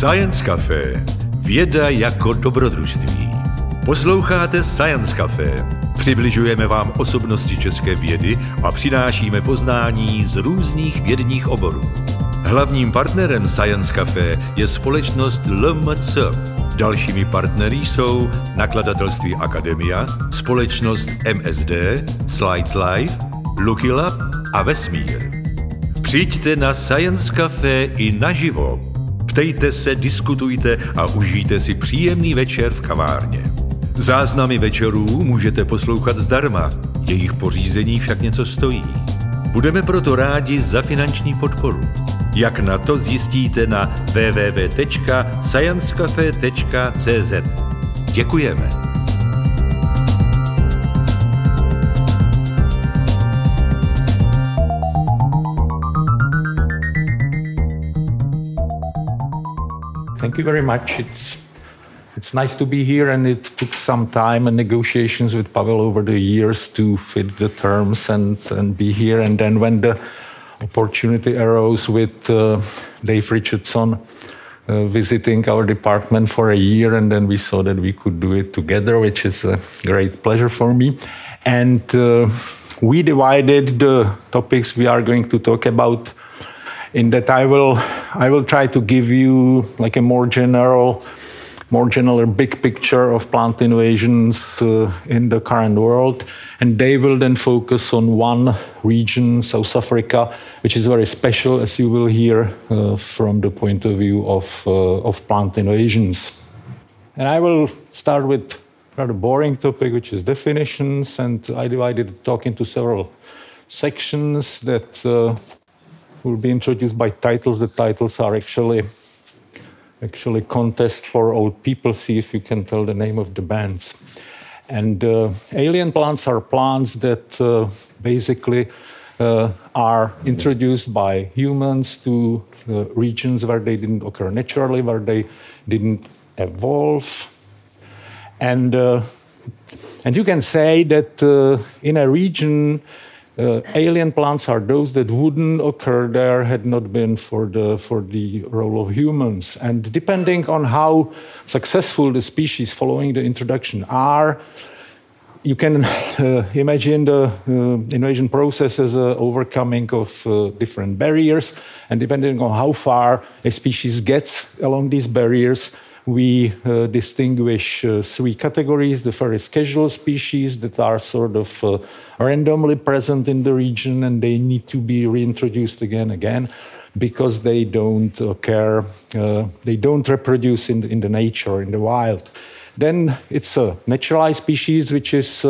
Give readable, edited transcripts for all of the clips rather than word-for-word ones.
Science Café. Věda jako dobrodružství. Posloucháte Science Café. Přibližujeme vám osobnosti české vědy a přinášíme poznání z různých vědních oborů. Hlavním partnerem Science Café je společnost LMC. Dalšími partnery jsou nakladatelství Akademia, společnost MSD, Slides Live, Lucky Lab a Vesmír. Přijďte na Science Café i naživo. Ptejte se, diskutujte a užijte si příjemný večer v kavárně. Záznamy večerů můžete poslouchat zdarma, jejich pořízení však něco stojí. Budeme proto rádi za finanční podporu. Jak na to zjistíte na www.sciencecafe.cz. Děkujeme. Thank you very much. It's nice to be here, and it took some time and negotiations with Pavel over the years to fit the terms and be here. And then when the opportunity arose with Dave Richardson visiting our department for a year, and then we saw that we could do it together, which is a great pleasure for me. And we divided the topics we are going to talk about in that I will try to give you like a more general big picture of plant invasions in the current world, and they will then focus on one region, South Africa, which is very special, as you will hear from the point of view of plant invasions. And I will start with a rather boring topic, which is definitions, and I divided the talk into several sections that will be introduced by titles. The titles are actually contest for old people. See if you can tell the name of the bands. And alien plants are plants that basically are introduced by humans to regions where they didn't occur naturally, where they didn't evolve. And you can say that in a region, alien plants are those that wouldn't occur there had not been for the role of humans. And depending on how successful the species following the introduction are, you can imagine the invasion process as an overcoming of different barriers. And depending on how far a species gets along these barriers, we distinguish three categories. The first casual species that are sort of randomly present in the region, and they need to be reintroduced again because they don't occur, they don't reproduce in the nature, in the wild. Then it's a naturalized species, which is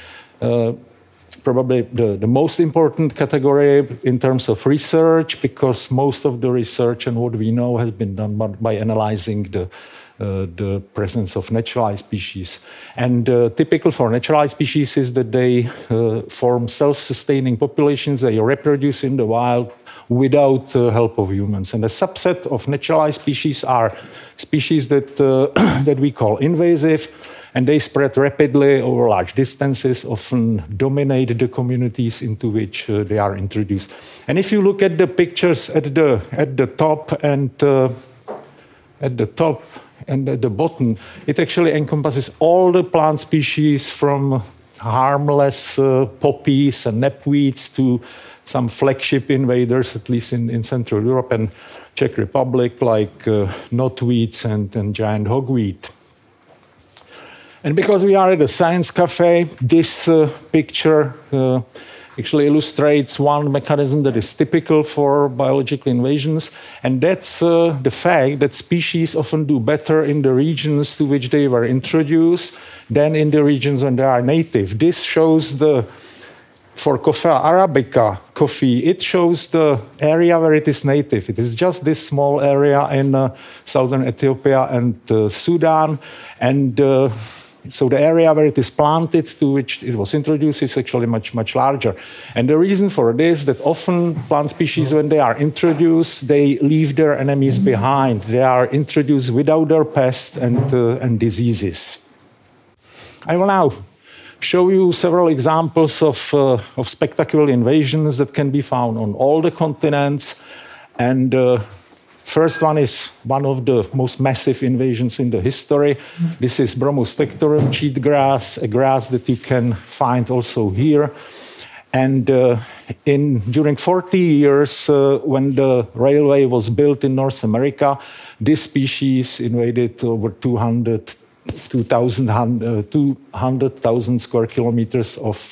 probably the most important category in terms of research, because most of the research and what we know has been done by analyzing the presence of naturalized species. And typical for naturalized species is that they form self-sustaining populations. They reproduce in the wild without the help of humans. And a subset of naturalized species are species that we call invasive, and they spread rapidly over large distances, often dominate the communities into which they are introduced. And if you look at the pictures at the top and at the bottom, it actually encompasses all the plant species from harmless poppies and knapweeds to some flagship invaders, at least in Central Europe and Czech Republic, like knotweeds and giant hogweed. And because we are at a science cafe, this picture actually illustrates one mechanism that is typical for biological invasions, and that's the fact that species often do better in the regions to which they were introduced than in the regions when they are native. This shows for Coffea arabica coffee, it shows the area where it is native. It is just this small area in southern Ethiopia and Sudan, and so the area where it is planted to which it was introduced is actually much, much larger. And the reason for this is that often plant species, when they are introduced, they leave their enemies behind. They are introduced without their pests and diseases. I will now show you several examples of spectacular invasions that can be found on all the continents. And First one is one of the most massive invasions in the history. This is Bromus tectorum cheatgrass, a grass that you can find also here. And during 40 years, when the railway was built in North America, this species invaded over 200,000 square kilometers of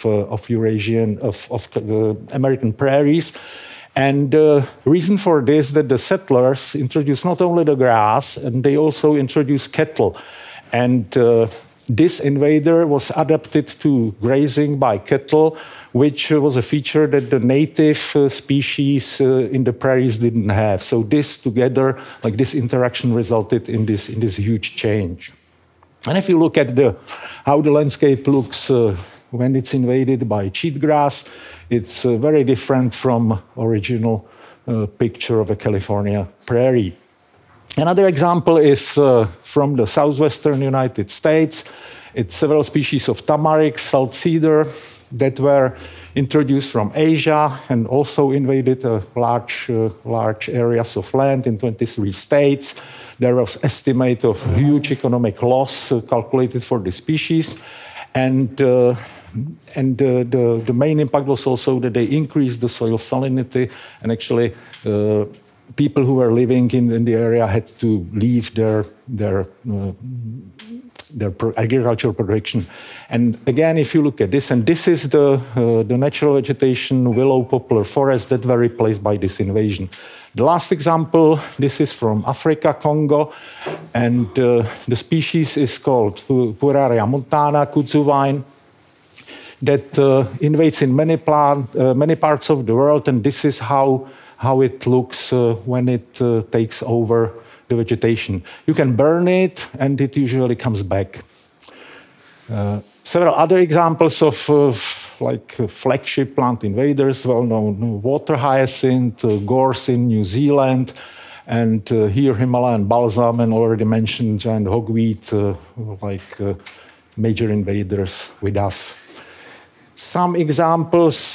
American prairies. And the reason for this that the settlers introduced not only the grass, and they also introduced cattle. And this invader was adapted to grazing by cattle, which was a feature that the native species in the prairies didn't have. So this together, like this interaction, resulted in this huge change. And if you look at how the landscape looks when it's invaded by cheatgrass, it's very different from original picture of a California prairie. Another example is from the southwestern United States. It's several species of tamarisk, salt cedar, that were introduced from Asia and also invaded large areas of land in 23 states. There was estimate of huge economic loss calculated for the species. And the main impact was also that they increased the soil salinity, and actually people who were living in the area had to leave their agricultural production. And again, if you look at this, and this is the natural vegetation, willow poplar forest that were replaced by this invasion. The last example, this is from Africa, Congo, and the species is called Pueraria montana, kudzu vine, that invades in many parts of the world, and this is how it looks when it takes over the vegetation. You can burn it, and it usually comes back. Several other examples of flagship plant invaders, well-known water hyacinth, gorse in New Zealand, and here Himalayan balsam, and already mentioned giant hogweed, major invaders with us. Some examples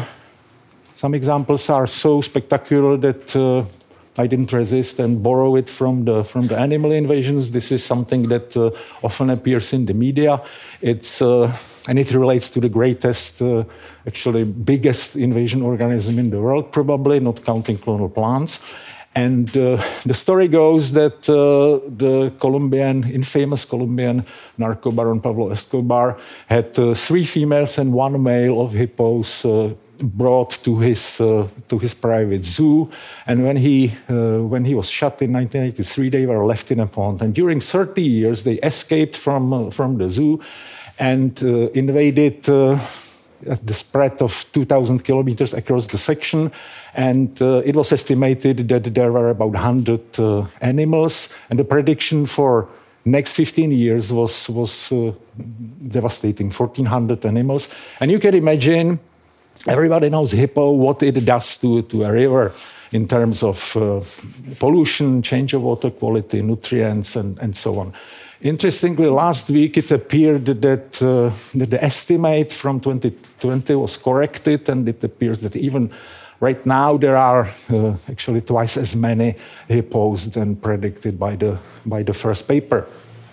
are so spectacular that I didn't resist and borrow it from the animal invasions. This is something that often appears in the media. And it relates to the greatest, actually biggest invasion organism in the world, probably, not counting clonal plants. And the story goes that the infamous Colombian narco baron Pablo Escobar had 3 females and 1 male of hippos brought to his private zoo. And when he was shot in 1983, they were left in a pond. And during 30 years, they escaped from the zoo and invaded at the spread of 2,000 kilometers across the section. And it was estimated that there were about 100 animals. And the prediction for next 15 years was devastating, 1,400 animals. And you can imagine, everybody knows hippo, what it does to a river in terms of pollution, change of water quality, nutrients, and so on. Interestingly, last week it appeared that the estimate from 2020 was corrected, and it appears that even right now there are actually twice as many hippos than predicted by the first paper.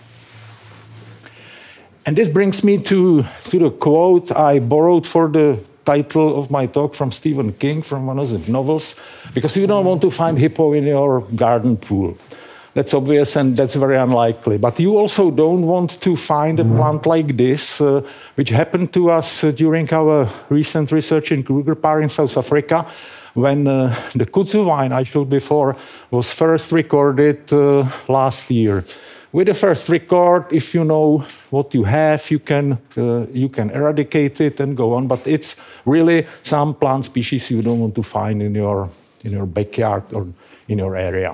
And this brings me to the quote I borrowed for the title of my talk from Stephen King, from one of his novels, because you don't want to find hippo in your garden pool. That's obvious, and that's very unlikely. But you also don't want to find a plant like this, which happened to us during our recent research in Kruger Park in South Africa, when the kudzu vine I showed before was first recorded last year. With the first record, if you know what you have, you can eradicate it and go on. But it's really some plant species you don't want to find in your backyard or in your area.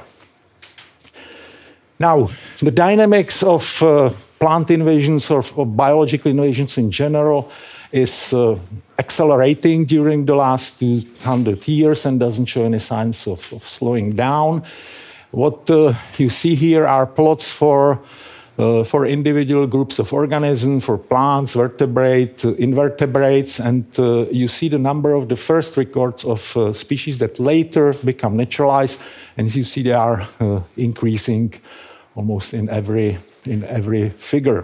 Now, the dynamics of plant invasions or biological invasions in general is accelerating during the last 200 years and doesn't show any signs of slowing down. What you see here are plots for for individual groups of organisms, for plants, vertebrate, invertebrates, and you see the number of the first records of species that later become naturalized, and you see they are increasing almost in every figure.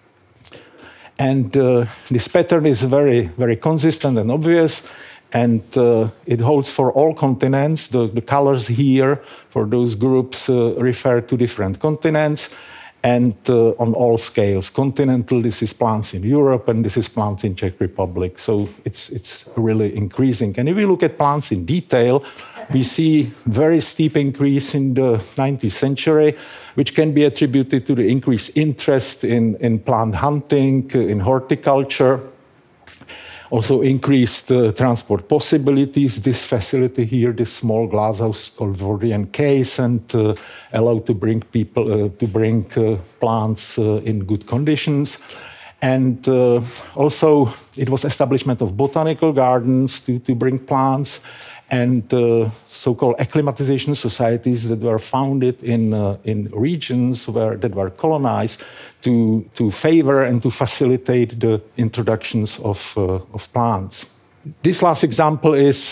And this pattern is very, very consistent and obvious, and it holds for all continents. The colors here for those groups refer to different continents, and on all scales. Continental, this is plants in Europe, and this is plants in Czech Republic. So it's really increasing. And if we look at plants in detail, we see very steep increase in the 19th century, which can be attributed to the increased interest in plant hunting, in horticulture. Also increased transport possibilities. This facility here, this small glasshouse called Vordyan case, and allowed to bring people plants in good conditions. And also it was establishment of botanical gardens to bring plants, and so-called acclimatization societies that were founded in regions that were colonized to favor and to facilitate the introductions of plants. This last example is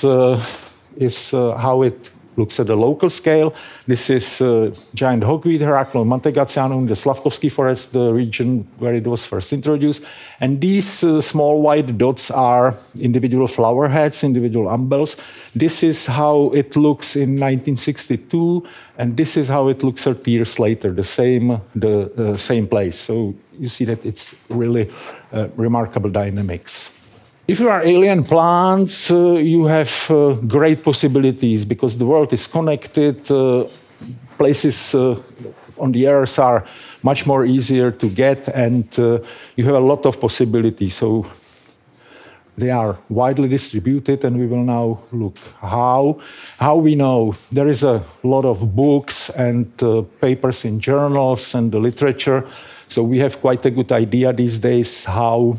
how it looks at the local scale. This is giant hogweed, Heracleum mantegatianum, the Slavkovsky forest, the region where it was first introduced. And these small white dots are individual flower heads, individual umbels. This is how it looks in 1962, and this is how it looks 30 years later, the same place. So you see that it's really remarkable dynamics. If you are alien plants, you have great possibilities because the world is connected. Places on the Earth are much more easier to get, and you have a lot of possibilities. So they are widely distributed, and we will now look how we know. There is a lot of books and papers in journals and the literature. So we have quite a good idea these days how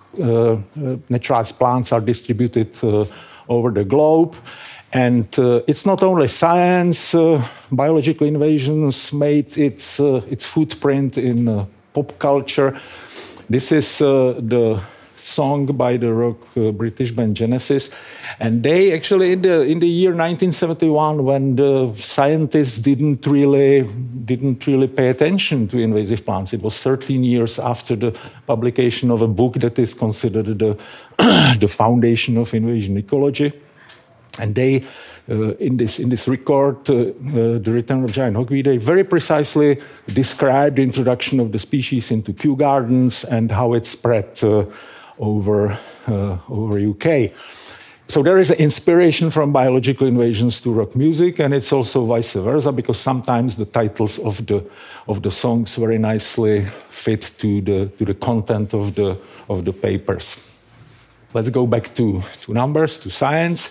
naturalized plants are distributed over the globe. And it's not only science. Biological invasions made its footprint in pop culture. This is the song by the rock British band Genesis. And they actually, in the year 1971, when the scientists didn't really pay attention to invasive plants, it was 13 years after the publication of a book that is considered the foundation of invasion ecology. And they, in this record, The Return of Giant Hogweed, they very precisely described the introduction of the species into Kew Gardens and how it spread over UK. So there is an inspiration from biological invasions to rock music, and it's also vice versa, because sometimes the titles of the songs very nicely fit to the content of the papers. Let's go back to numbers, to science.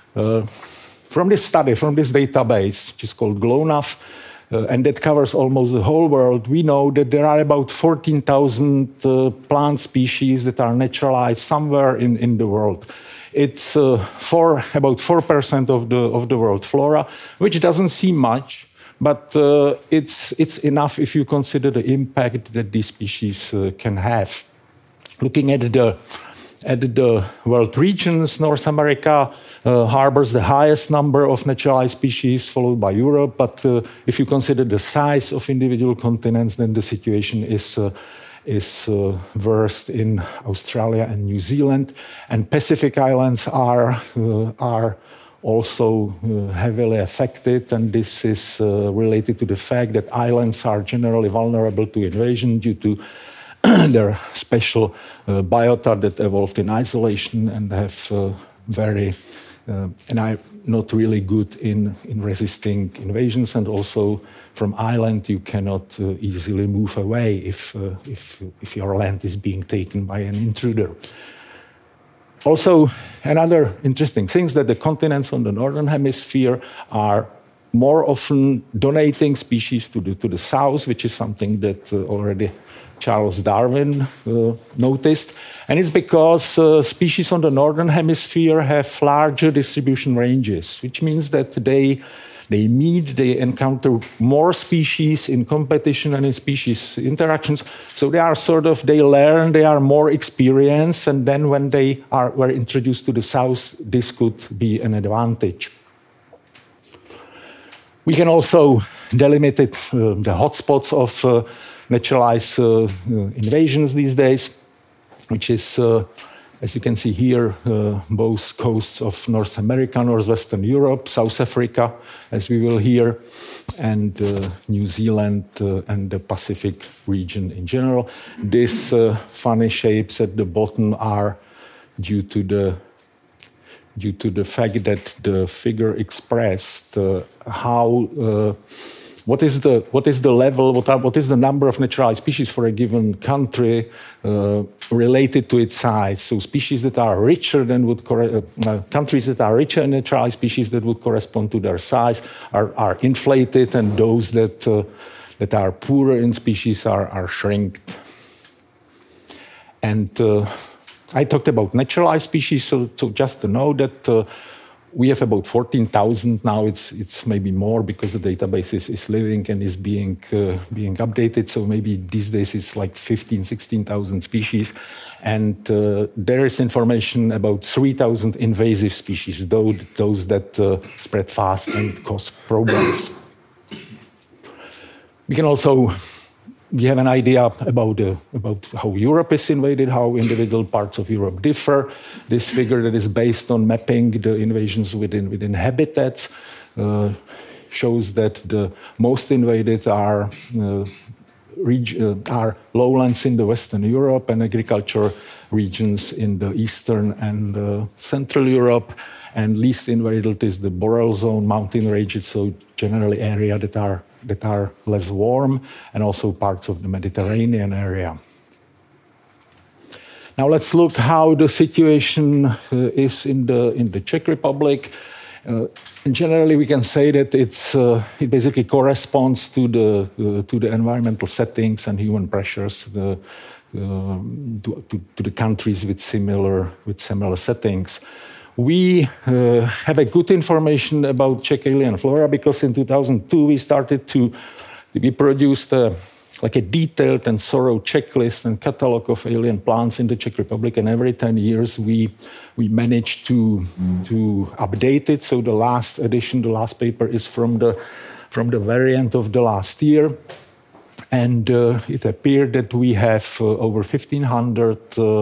From this study, from this database, which is called GLONASS, and that covers almost the whole world, we know that there are about 14,000 plant species that are naturalized somewhere in the world. It's about 4% of the world flora, which doesn't seem much, but it's enough if you consider the impact that these species can have. Looking at the world regions, North America harbors the highest number of naturalized species, followed by Europe. But if you consider the size of individual continents, then the situation is worst in Australia and New Zealand. And Pacific Islands are also heavily affected, and this is related to the fact that islands are generally vulnerable to invasion due to their special biota that evolved in isolation and have and are not really good in resisting invasions. And also from island, you cannot easily move away if your land is being taken by an intruder. Also, another interesting thing is that the continents on the northern hemisphere are more often donating species to the south, which is something that already Charles Darwin noticed. And it's because species on the northern hemisphere have larger distribution ranges, which means that they they meet, they encounter more species in competition and in species interactions. So they are they learn, they are more experienced, and then when they were introduced to the south, this could be an advantage. We can also delimit the hotspots of naturalized invasions these days, which is, as you can see here, both coasts of North America, Northwestern Europe, South Africa, as we will hear, and New Zealand and the Pacific region in general. These funny shapes at the bottom are due to the fact that the figure expressed what is the level, what is the number of naturalized species for a given country related to its size. So species that are richer than countries that are richer in naturalized species that would correspond to their size are inflated, and those that are poorer in species are shrinked. And I talked about naturalized species, so just to know that we have about 14,000 now. It's maybe more because the database is living and is being updated. So maybe these days it's like 16,000 species. And there is information about 3,000 invasive species, those that spread fast and cause problems. We have an idea about how Europe is invaded, how individual parts of Europe differ. This figure that is based on mapping the invasions within habitats shows that the most invaded are lowlands in the Western Europe and agriculture regions in the Eastern and Central Europe. And least invaded is the boreal zone, mountain ranges, so generally area that are less warm, and also parts of the Mediterranean area. Now let's look how the situation is in the Czech Republic. Generally, we can say that it basically corresponds to the environmental settings and human pressures to the countries with similar settings. We have a good information about Czech alien flora because in 2002 we started we produced a detailed and thorough checklist and catalog of alien plants in the Czech Republic, and every 10 years we managed to update it. So the last edition, the last paper, is from the very end of the last year, and it appeared that we have over 1,500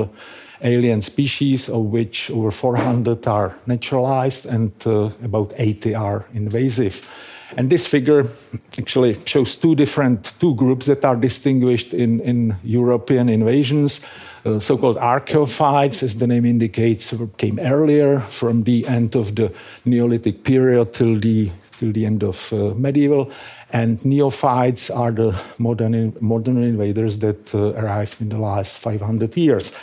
alien species, of which over 400 are naturalized and about 80 are invasive. And this figure actually shows two groups that are distinguished in European invasions. So-called archaeophytes, as the name indicates, came earlier from the end of the Neolithic period till the end of medieval. And neophytes are the modern invaders that arrived in the last 500 years.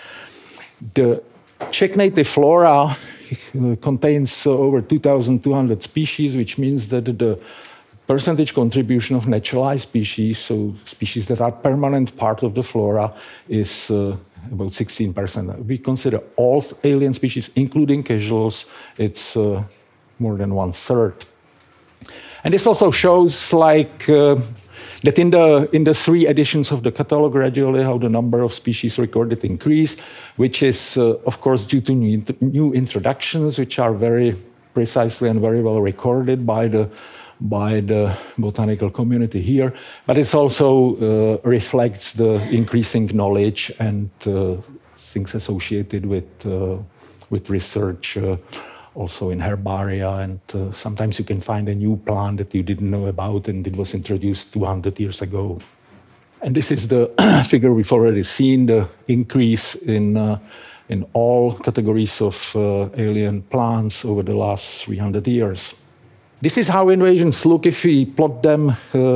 The Czech native flora contains over 2,200 species, which means that the percentage contribution of naturalized species, so species that are permanent part of the flora, is about 16%. We consider all alien species, including casuals, it's more than 1/3. And this also shows that in the 3 editions of the catalog, gradually how the number of species recorded increased, which is, of course, due to new introductions, which are very precisely and very well recorded by the botanical community here. But it also reflects the increasing knowledge and things associated with research, also in herbaria, and sometimes you can find a new plant that you didn't know about and it was introduced 200 years ago. And this is the figure we've already seen, the increase in all categories of alien plants over the last 300 years. This is how invasions look if we plot them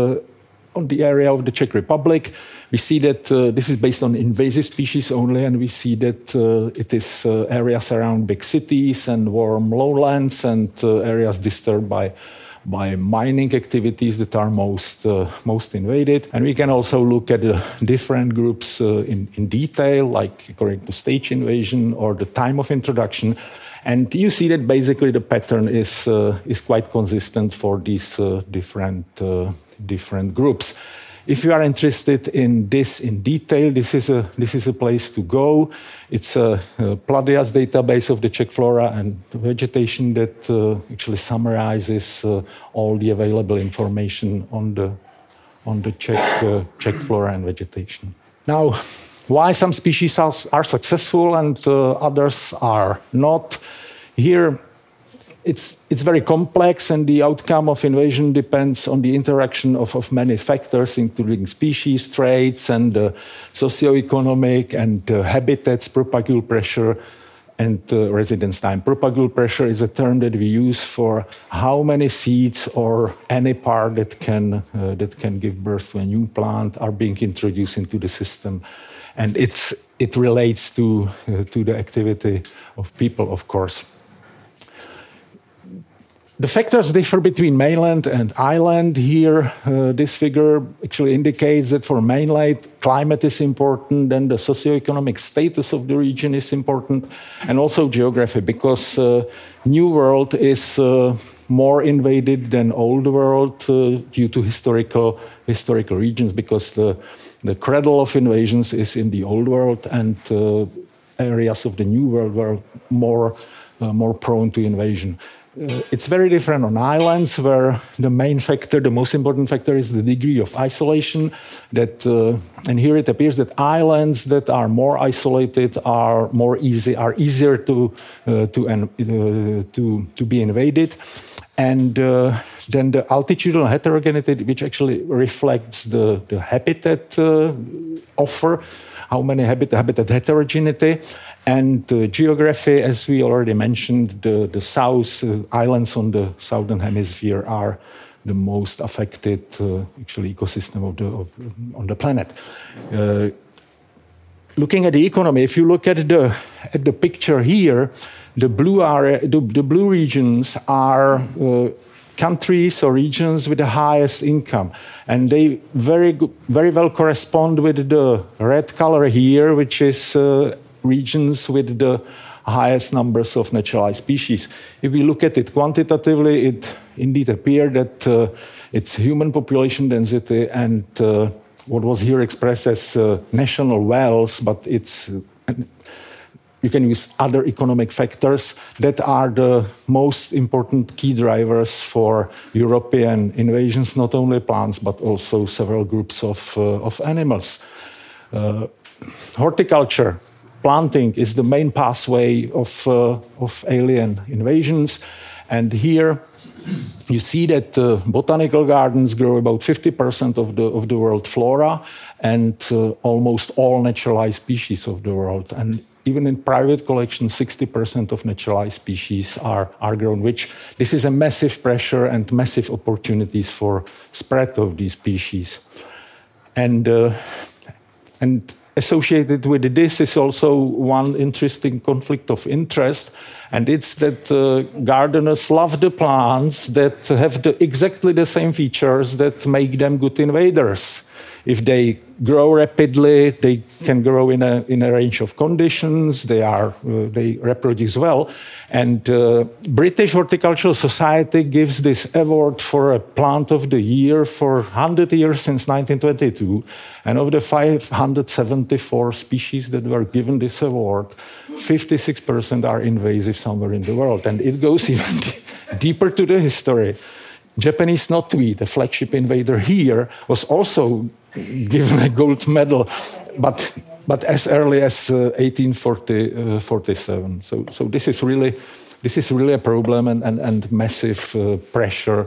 on the area of the Czech Republic. We see that this is based on invasive species only, and we see that it is areas around big cities and warm lowlands and areas disturbed by mining activities that are most invaded. And we can also look at the different groups in detail, like according to stage invasion or the time of introduction. And you see that basically the pattern is quite consistent for these different groups. If you are interested in this in detail, this is a place to go. It's a Pladias database of the Czech flora and vegetation that actually summarizes all the available information on the Czech flora and vegetation. Now, why some species are successful and others are not? Here, it's very complex, and the outcome of invasion depends on the interaction of many factors, including species, traits, and socioeconomic and habitats, propagule pressure, and residence time. Propagule pressure is a term that we use for how many seeds or any part that can give birth to a new plant are being introduced into the system, and it relates to the activity of people, of course. The factors differ between mainland and island. Here, this figure actually indicates that for mainland, climate is important, and the socioeconomic status of the region is important, and also geography, because New World is more invaded than Old World due to historical regions, because the cradle of invasions is in the Old World, and areas of the New World were more prone to invasion. It's very different on islands, where the most important factor is the degree of isolation. And here it appears that islands that are more isolated are easier to be invaded. And then the altitudinal heterogeneity, which actually reflects the habitat offer, how many habitat heterogeneity, and geography, as we already mentioned, the south islands on the southern hemisphere are the most affected ecosystem on the planet. Looking at the economy, if you look at the picture here, the blue regions are countries or regions with the highest income, and they very well correspond with the red color here, which is regions with the highest numbers of naturalized species. If we look at it quantitatively, it indeed appears that it's human population density and what was here expressed as national wealth, but you can use other economic factors that are the most important key drivers for European invasions, not only plants, but also several groups of animals. Horticulture, planting is the main pathway of alien invasions. And here you see that botanical gardens grow about 50% of the world flora and almost all naturalized species of the world. And even in private collections, 60% of naturalized species are grown, which this is a massive pressure and massive opportunities for spread of these species. And associated with this is also one interesting conflict of interest, and it's that gardeners love the plants that have exactly the same features that make them good invaders. If they grow rapidly, they can grow in a range of conditions. They reproduce well, and British Horticultural Society gives this award for a plant of the year for 100 years since 1922. And of the 574 species that were given this award, 56% are invasive somewhere in the world, and it goes even deeper to the history. Japanese knotweed, the flagship invader here, was also given a gold medal, but as early as 1847. So this is really a problem and massive pressure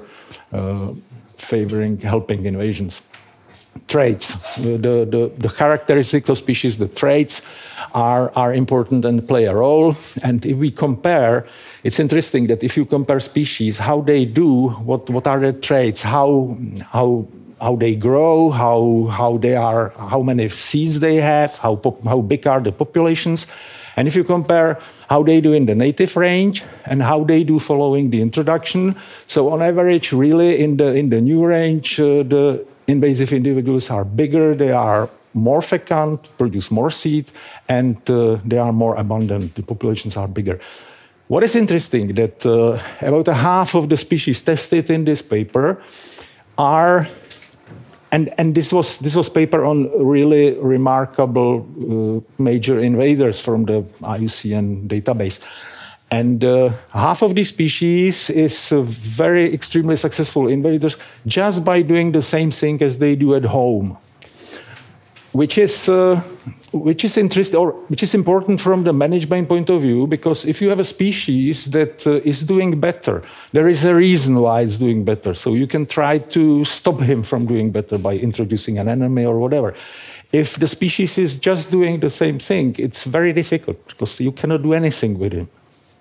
helping invasions. Traits, the characteristics of species, the traits are important and play a role. And if we compare, it's interesting that if you compare species, how they do, what are the traits, how they grow, how they are, how many seeds they have, how big are the populations. And if you compare how they do in the native range and how they do following the introduction, so on average, really in the new range, the invasive individuals are bigger, they are more fecund, produce more seed, and they are more abundant. The populations are bigger. What is interesting that about a half of the species tested in this paper are, and this was paper on really remarkable major invaders from the IUCN database. And half of these species is very extremely successful invaders just by doing the same thing as they do at home, which is interesting, or which is important from the management point of view, because if you have a species that is doing better, there is a reason why it's doing better. So you can try to stop him from doing better by introducing an enemy or whatever. If the species is just doing the same thing, it's very difficult because you cannot do anything with him.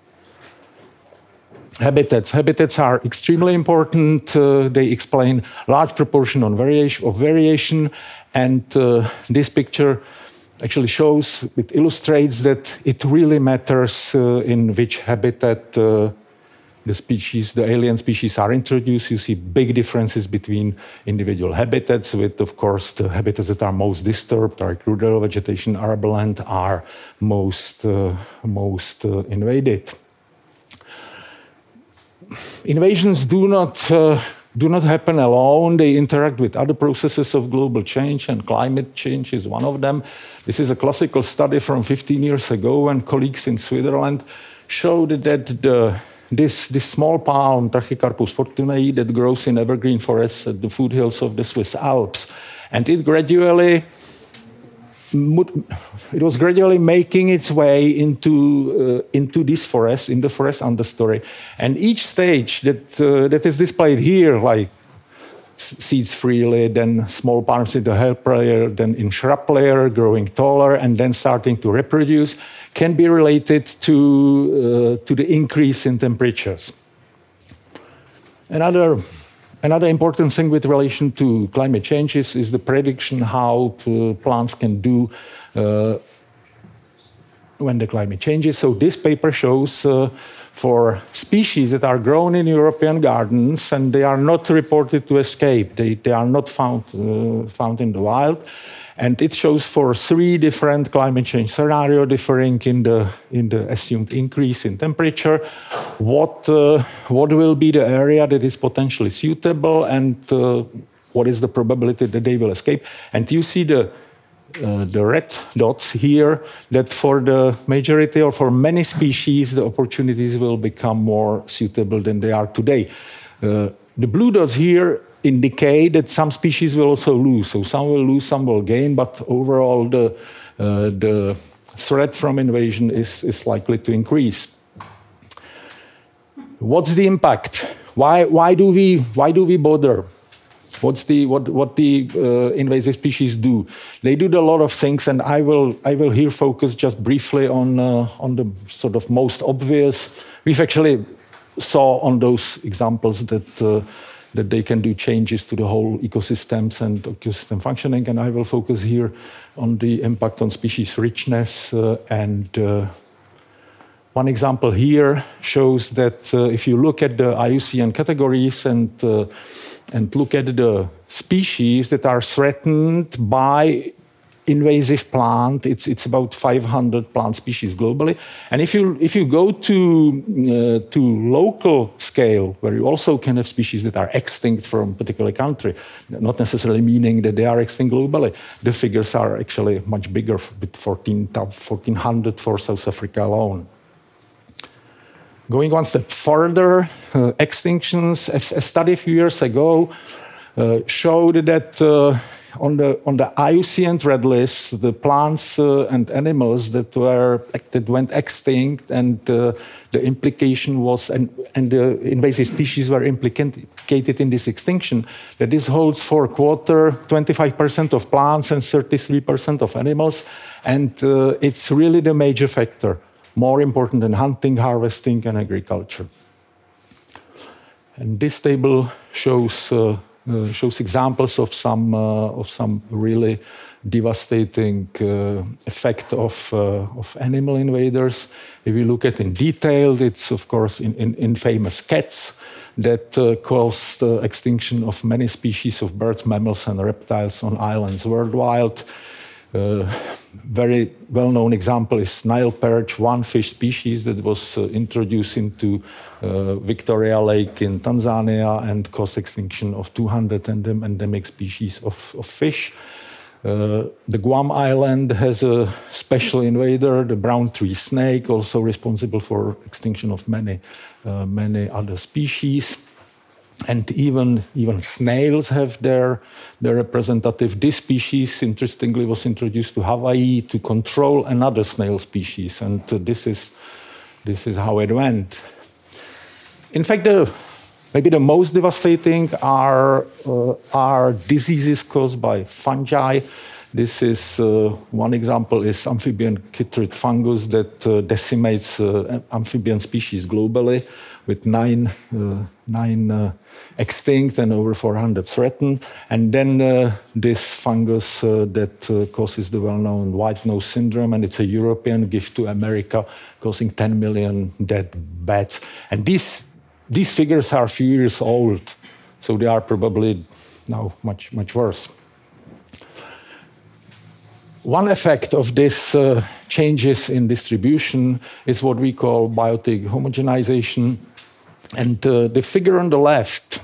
Habitats are extremely important. They explain large proportion of variation, and this picture actually shows, it illustrates that it really matters in which habitat the alien species are introduced. You see big differences between individual habitats, with, of course, the habitats that are most disturbed, like rural vegetation, arborland, are most invaded. Invasions do not happen alone. They interact with other processes of global change, and climate change is one of them. This is a classical study from 15 years ago, and colleagues in Switzerland showed that this small palm, Trachycarpus fortunei, that grows in evergreen forests at the foothills of the Swiss Alps, and it was gradually making its way into this forest, in the forest understory. And each stage that is displayed here, like seeds freely, then small palms in the help layer, then in shrub layer, growing taller, and then starting to reproduce, can be related to the increase in temperatures. Another important thing with relation to climate change is the prediction how plants can do when the climate changes. So this paper shows for species that are grown in European gardens and they are not reported to escape. They are not found in the wild. And it shows for 3 different climate change scenarios differing in the assumed increase in temperature, what will be the area that is potentially suitable, and what is the probability that they will escape. And you see the red dots here, that for the majority or for many species, the opportunities will become more suitable than they are today. The blue dots here indicate that some species will also lose. So some will lose, some will gain, but overall the threat from invasion is likely to increase. What's the impact? Why do we bother? What the invasive species do? They do a lot of things, and I will here focus just briefly on the sort of most obvious. We've actually saw on those examples that they can do changes to the whole ecosystems and ecosystem functioning, and I will focus here on the impact on species richness. One example here shows that if you look at the IUCN categories and look at the species that are threatened by invasive plant, it's about 500 plant species globally. And if you go to local scale, where you also can have species that are extinct from a particular country, not necessarily meaning that they are extinct globally, the figures are actually much bigger, with 1,400 for South Africa alone. Going one step further, extinctions. A study a few years ago showed that on the IUCN Red List, the plants and animals that went extinct, and the implication was, and the invasive species were implicated in this extinction, that this holds for a quarter, 25% of plants and 33% of animals, and it's really the major factor, more important than hunting, harvesting, and agriculture. And this table shows examples of some really devastating effect of animal invaders. If we look at in detail, it's of course in famous cats that caused the extinction of many species of birds, mammals, and reptiles on islands worldwide. Very well-known example is Nile perch, one fish species that was introduced into Victoria Lake in Tanzania and caused extinction of 200 endemic species of fish. The Guam Island has a special invader, the brown tree snake, also responsible for extinction of many other species. And even snails have their representative. This species, interestingly, was introduced to Hawaii to control another snail species, and this is how it went. In fact, maybe the most devastating are diseases caused by fungi. This is one example is amphibian chytrid fungus that decimates amphibian species globally, with nine extinct and over 400 threatened. And then this fungus that causes the well-known white nose syndrome, and it's a European gift to America, causing 10 million dead bats. And these figures are a few years old, so they are probably now much worse. One effect of this changes in distribution is what we call biotic homogenization. And the figure on the left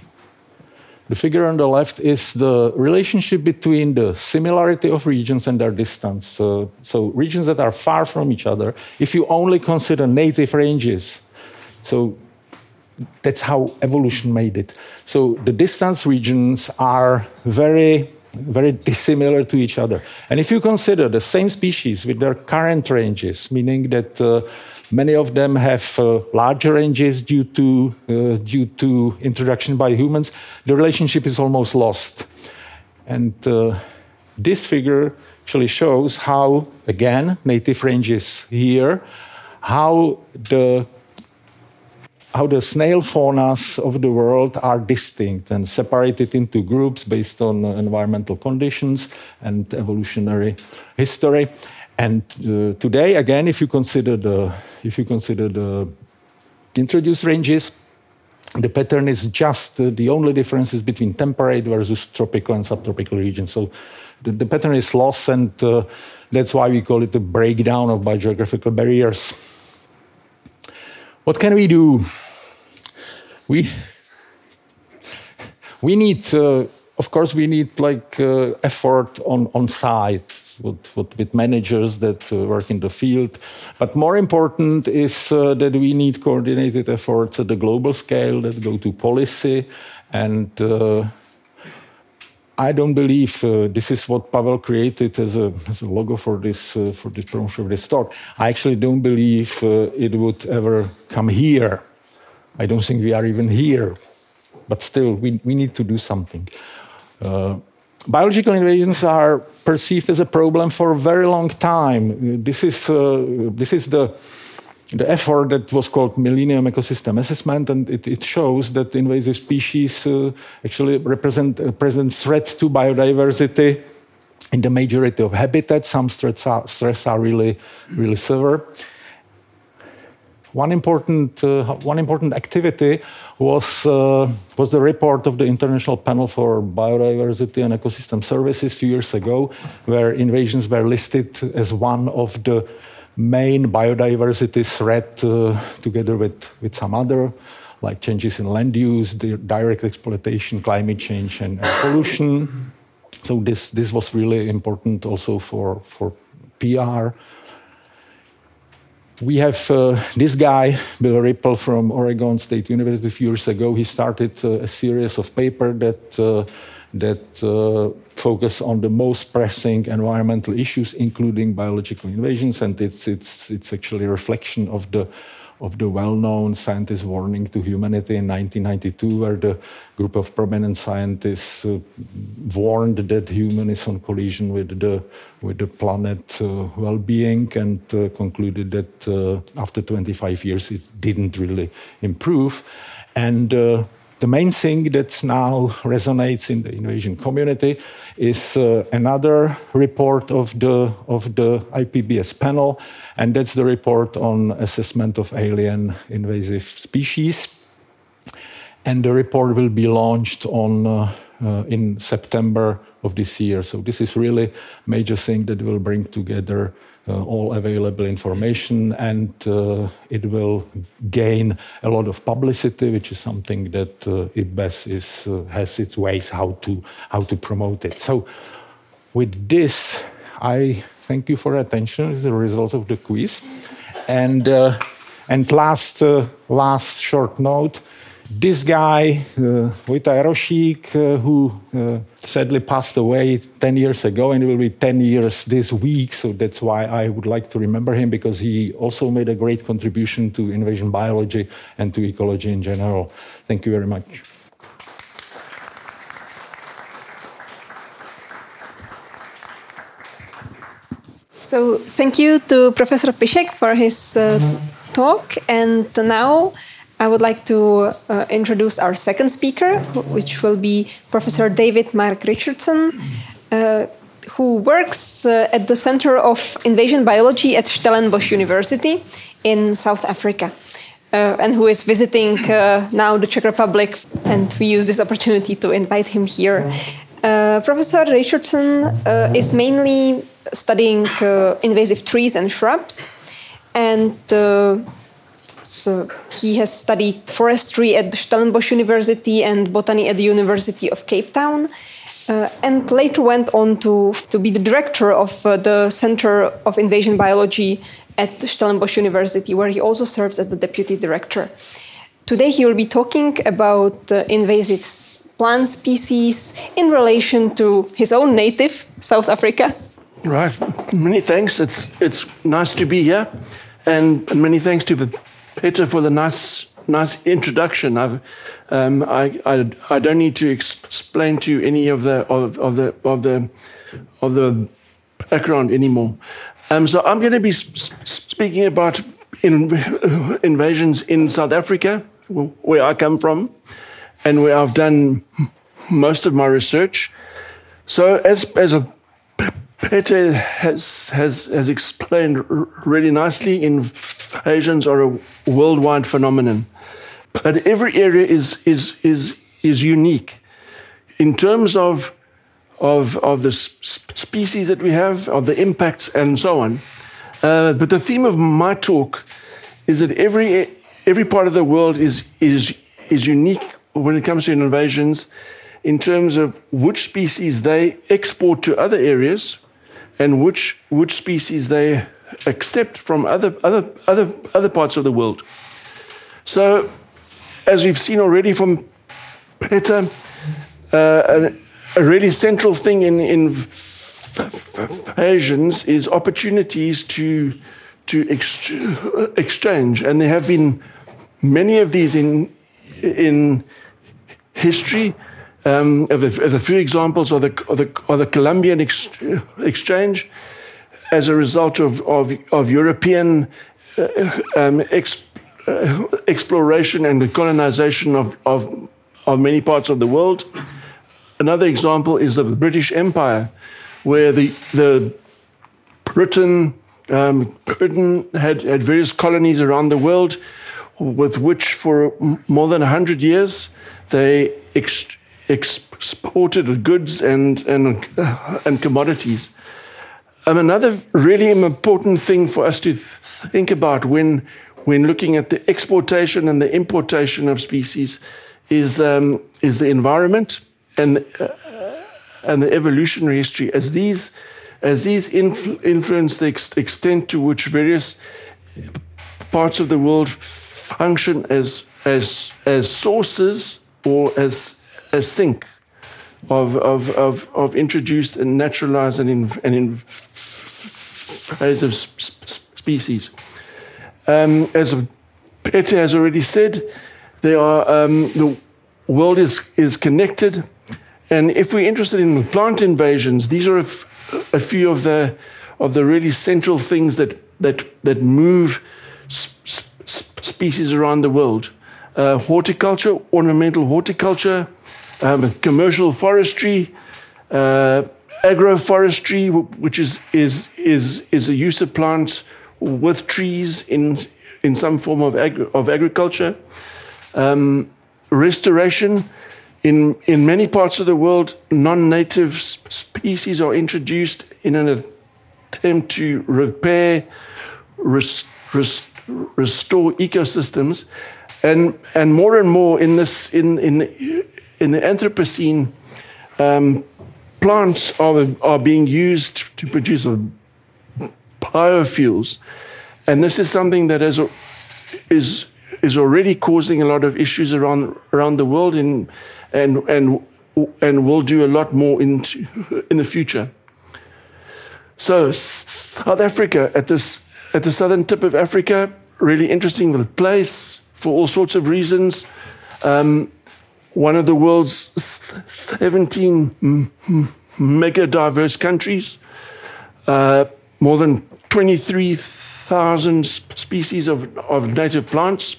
is the relationship between the similarity of regions and their distance. So regions that are far from each other, if you only consider native ranges, so that's how evolution made it. So the distance regions are very dissimilar to each other. And if you consider the same species with their current ranges, meaning that many of them have larger ranges due to introduction by humans, the relationship is almost lost. And this figure actually shows how, again, native ranges here, how the snail faunas of the world are distinct and separated into groups based on environmental conditions and evolutionary history. And today, again, if you consider the introduced ranges, the pattern is just the only difference is between temperate versus tropical and subtropical regions. So the pattern is lost, and that's why we call it the breakdown of biogeographical barriers. What can we do? We need, of course, we need effort on site with managers that work in the field. But more important is that we need coordinated efforts at the global scale that go to policy. And I don't believe this is what Pavel created as a logo for this promotion of this talk. I actually don't believe it would ever come here. I don't think we are even here. But still, we need to do something. Biological invasions are perceived as a problem for a very long time. This is the effort that was called Millennium Ecosystem Assessment, and it shows that invasive species actually present threat to biodiversity in the majority of habitats. Some threats are really severe. One important activity was the report of the International Panel for Biodiversity and Ecosystem Services a few years ago, where invasions were listed as one of the main biodiversity threat, together with some other, like changes in land use, the direct exploitation, climate change, and pollution. So this was really important also for PR. We have this guy, Bill Ripple from Oregon State University a few years ago. He started a series of papers that focus on the most pressing environmental issues, including biological invasions, and it's actually a reflection of the well-known scientist warning to humanity in 1992, where the group of prominent scientists warned that human is on collision with the planet well-being, and concluded that after 25 years it didn't really improve. And the main thing that now resonates in the invasion community is another report of the IPBES panel, and that's the report on assessment of alien invasive species. And the report will be launched on in September of this year. So this is really a major thing that will bring together all available information, and it will gain a lot of publicity, which is something that IPBES has its ways how to promote it. So with this, I thank you for your attention. It's a result of the quiz. And last short note, this guy, Vojta Jarošík, who sadly passed away 10 years ago, and it will be 10 years this week, so that's why I would like to remember him, because he also made a great contribution to invasion biology and to ecology in general. Thank you very much. So thank you to Professor Pišek for his talk, and now I would like to introduce our second speaker, which will be Professor David Mark Richardson, who works at the Center of Invasion Biology at Stellenbosch University in South Africa, and who is visiting now the Czech Republic, and we use this opportunity to invite him here. Professor Richardson is mainly studying invasive trees and shrubs, and so he has studied forestry at the Stellenbosch University and botany at the University of Cape Town, and later went on to be the director of the Center of Invasion Biology at Stellenbosch University, where he also serves as the deputy director. Today he will be talking about invasive plant species in relation to his own native, South Africa. Right. Many thanks. It's nice to be here, and many thanks to Peter for the nice introduction. I don't need to explain to you any of the background anymore. So I'm going to be speaking about invasions in South Africa, where I come from, and where I've done most of my research. So as Peter has explained really nicely, invasions are a worldwide phenomenon, but every area is unique in terms of the species that we have, of the impacts, and so on. But the theme of my talk is that every part of the world is unique when it comes to invasions, in terms of which species they export to other areas, and which species they accept from other parts of the world. So, as we've seen already from Peter, a really central thing in invasions is opportunities to exchange, and there have been many of these in history. A few examples are the Columbian exchange, as a result of European exploration and the colonization of many parts of the world. Another example is the British Empire, where the Britain had various colonies around the world, with which for more than 100 years they exported goods and commodities. Another really important thing for us to think about when looking at the exportation and the importation of species is the environment and the evolutionary history, as these influence the extent to which various parts of the world function as sources or as sink of introduced and naturalized and invasive species. As Peter has already said, the world is connected, and if we're interested in plant invasions, these are a few of the really central things that move species around the world. Horticulture, ornamental horticulture, commercial forestry, agroforestry, which is the use of plants with trees in some form of agriculture. Restoration In many parts of the world, non-native species are introduced in an attempt to repair, restore ecosystems, and more in this in the Anthropocene, plants are being used to produce biofuels, and this is something that is already causing a lot of issues around the world, and will do a lot more in the future. So South Africa, at the southern tip of Africa, really interesting place for all sorts of reasons. One of the world's 17 mega diverse countries, more than 23,000 species of native plants.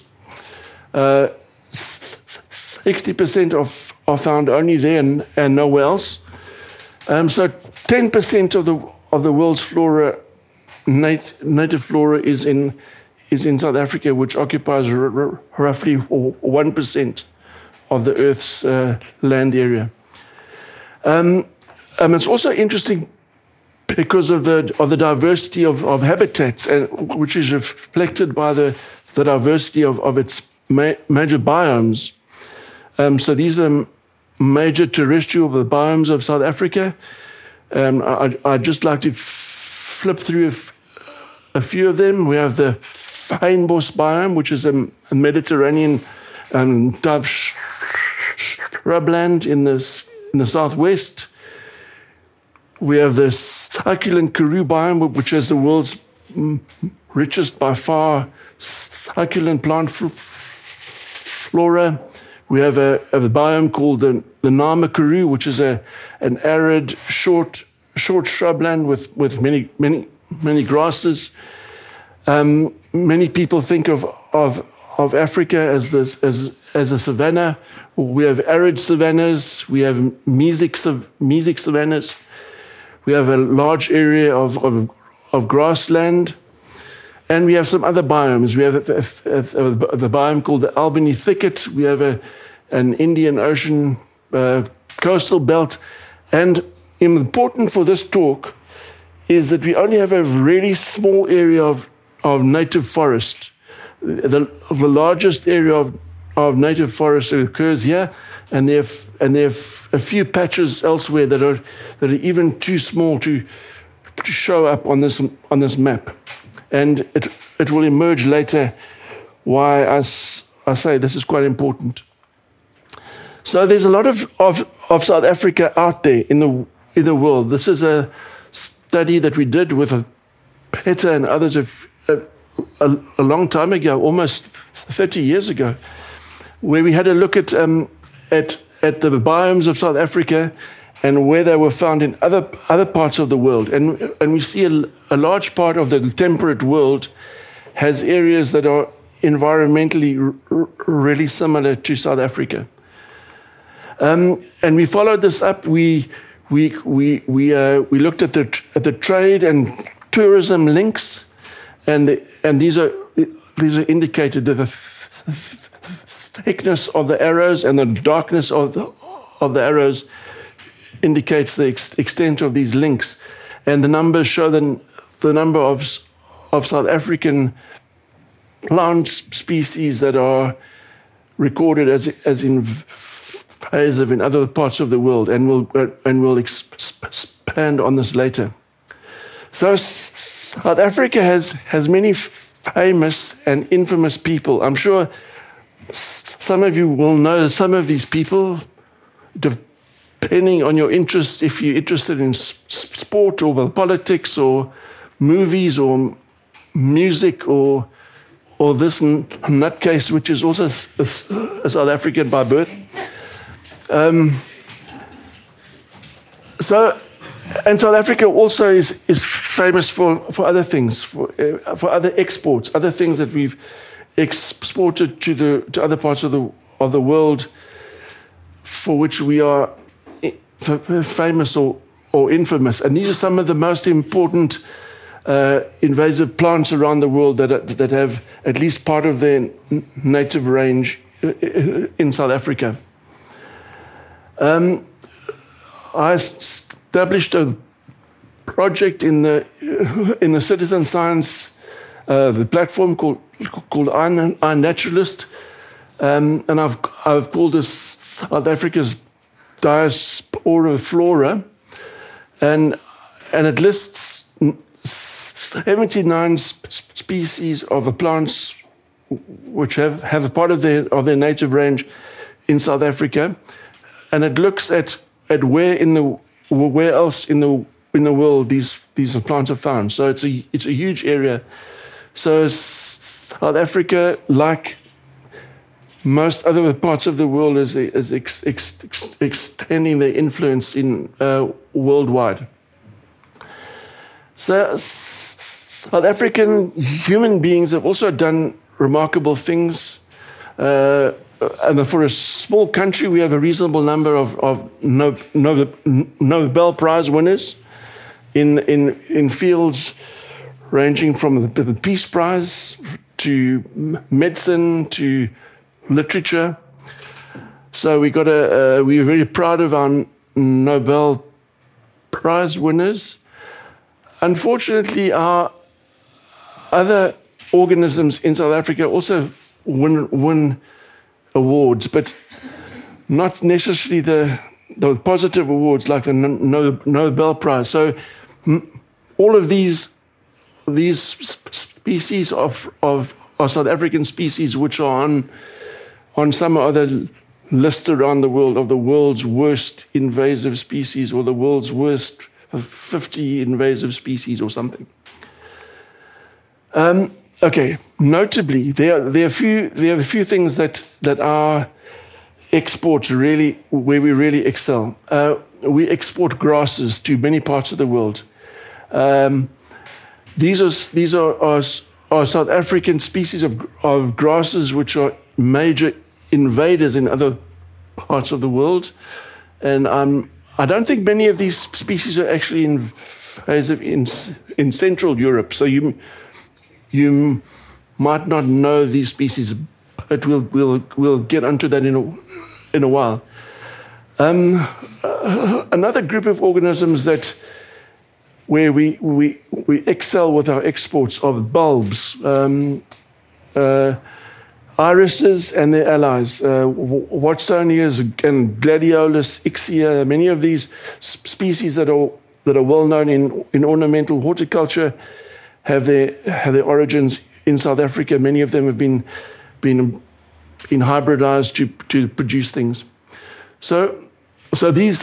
60% are found only there and nowhere else. So 10% of the world's flora, native flora, is in South Africa, which occupies roughly 1% of the Earth's land area. It's also interesting because of the diversity of habitats, which is reflected by the diversity of its major biomes. So these are major terrestrial biomes of South Africa. I'd just like to flip through a few of them. We have the fynbos biome, which is a Mediterranean type shrubland in the southwest. We have the succulent karoo biome, which is the world's richest by far succulent plant flora. We have a biome called the Nama Karoo, which is an arid, short shrubland with many grasses. Many people think of Africa as a savanna. We have arid savannas. We have mesic savannas. We have a large area of grassland. And we have some other biomes. We have the biome called the Albany Thicket. We have an Indian Ocean coastal belt. And important for this talk is that we only have a really small area of native forest. The largest area of native forest occurs here, and there are a few patches elsewhere that are even too small to show up on this map. And it will emerge later why I say this is quite important. So there's a lot of South Africa out there in the world. This is a study that we did with Peter and others a long time ago, almost 30 years ago, where we had a look at the biomes of South Africa and where they were found in other parts of the world. And we see a large part of the temperate world has areas that are environmentally really similar to South Africa. And we followed this up. We looked at the trade and tourism links, and these are indicated. The thickness of the arrows and the darkness of the arrows indicates the extent of these links, and the numbers show the number of South African plant species that are recorded as invasive in other parts of the world, and we'll expand on this later. So South Africa has many famous and infamous people. I'm sure some of you will know some of these people, depending on your interest, if you're interested in sport or politics or movies or music or this nutcase, which is also a South African by birth. And South Africa also is famous for other things, for other exports, other things that we've exported to other parts of the world, for which we are famous or infamous. And these are some of the most important invasive plants around the world that have at least part of their native range in South Africa. I established a project in the citizen science the platform called iNaturalist, and I've called this South Africa's Diaspora Flora, and it lists 79 species of plants which have a part of their native range in South Africa, and it looks at where else in the world these plants are found. So it's a huge area. So South Africa, like most other parts of the world, is extending their influence in worldwide. So South African human beings have also done remarkable things. And for a small country, we have a reasonable number of Nobel Prize winners in fields ranging from the Peace Prize to medicine to literature. So we're very proud of our Nobel Prize winners. Unfortunately, our other organisms in South Africa also win awards, but not necessarily the positive awards like the Nobel Prize. So all of these species of South African species, which are on some other list around the world of the world's worst invasive species or the world's worst 50 invasive species or something. Okay. Notably, there are a few things that our exports really, where we really excel. We export grasses to many parts of the world. These are South African species of grasses which are major invaders in other parts of the world, and I don't think many of these species are actually invasive in Central Europe. So you might not know these species, but we'll get onto that in a while. Another group of organisms where we excel with our exports are bulbs, irises and their allies, Watsonias and Gladiolus, Ixia. Many of these species that are well known in ornamental horticulture have their origins in South Africa. Many of them have been hybridized to produce things. So these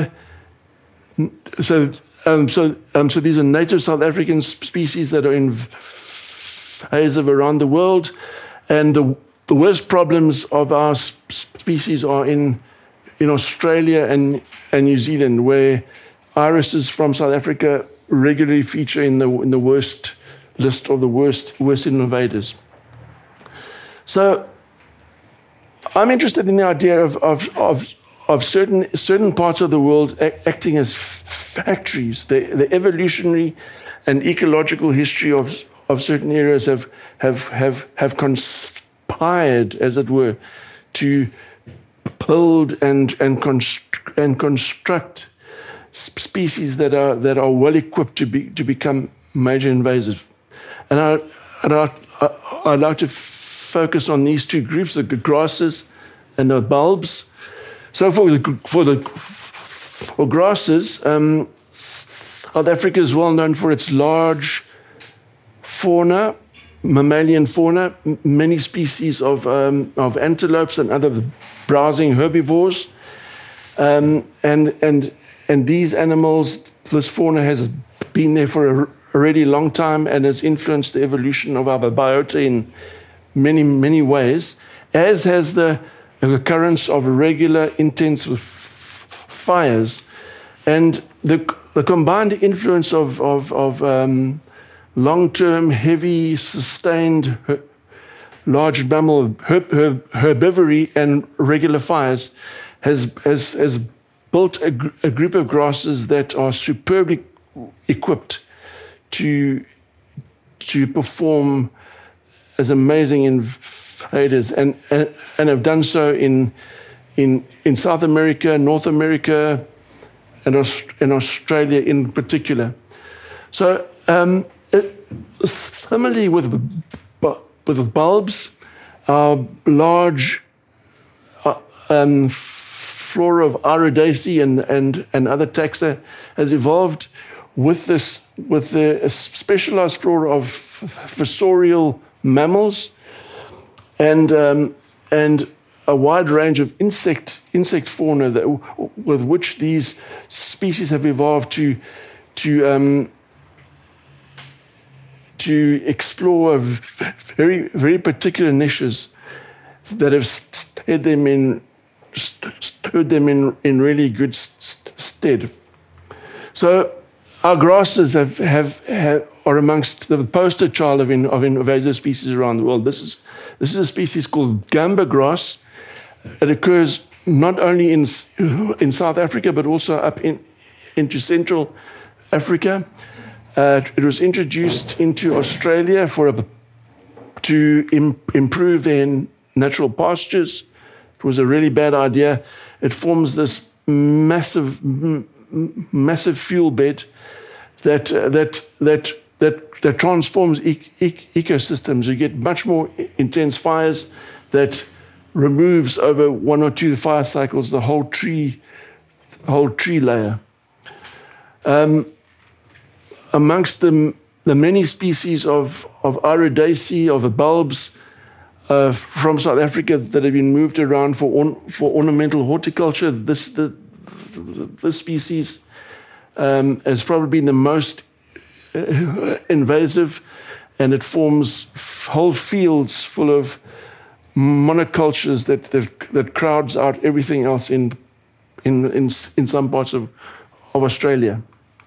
these are native South African species that are invasive around the world, and the worst problems of our species are in Australia and New Zealand, where irises from South Africa regularly feature in the worst list of the worst invaders. So I'm interested in the idea of certain parts of the world acting as factories. The evolutionary and ecological history of certain areas have conspired, as it were, to build and construct species that are well equipped to become major invasive. And I'd like to focus on these two groups: the grasses and the bulbs. So for grasses, South Africa is well known for its large fauna, mammalian fauna, many species of antelopes and other browsing herbivores, and these animals, this fauna has been there for a really long time and has influenced the evolution of our biota in many ways, as has the occurrence of regular, intense fires, and the combined influence of long-term, heavy, sustained, large mammal herbivory and regular fires has built a group of grasses that are superbly equipped to perform as amazing invaders, and have done so in in South America, North America, and Australia in particular. So similarly with bulbs, large flora of Iridaceae and other taxa has evolved with the specialized flora of fossorial mammals and a wide range of insect fauna with which these species have evolved to explore very, very particular niches that have stood them in really good stead. So our grasses are amongst the poster child of invasive species around the world. This is a species called gamba grass. It occurs not only in South Africa but also up into Central Africa. It was introduced into Australia to improve their natural pastures. It was a really bad idea. It forms this massive fuel bed that transforms ecosystems. You get much more intense fires that removes over 1 or 2 fire cycles the whole tree layer. Amongst the many species of Iridaceae, of the bulbs from South Africa that have been moved around for ornamental horticulture, this species has probably been the most invasive, and it forms whole fields full of monocultures that crowds out everything else in some parts of Australia.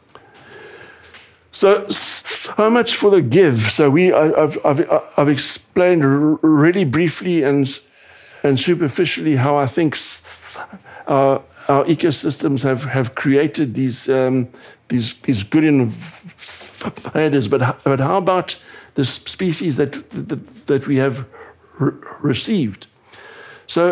So much for the give. So I've explained really briefly and superficially how I think our ecosystems have created these good invaders. But how about the species that we have received? So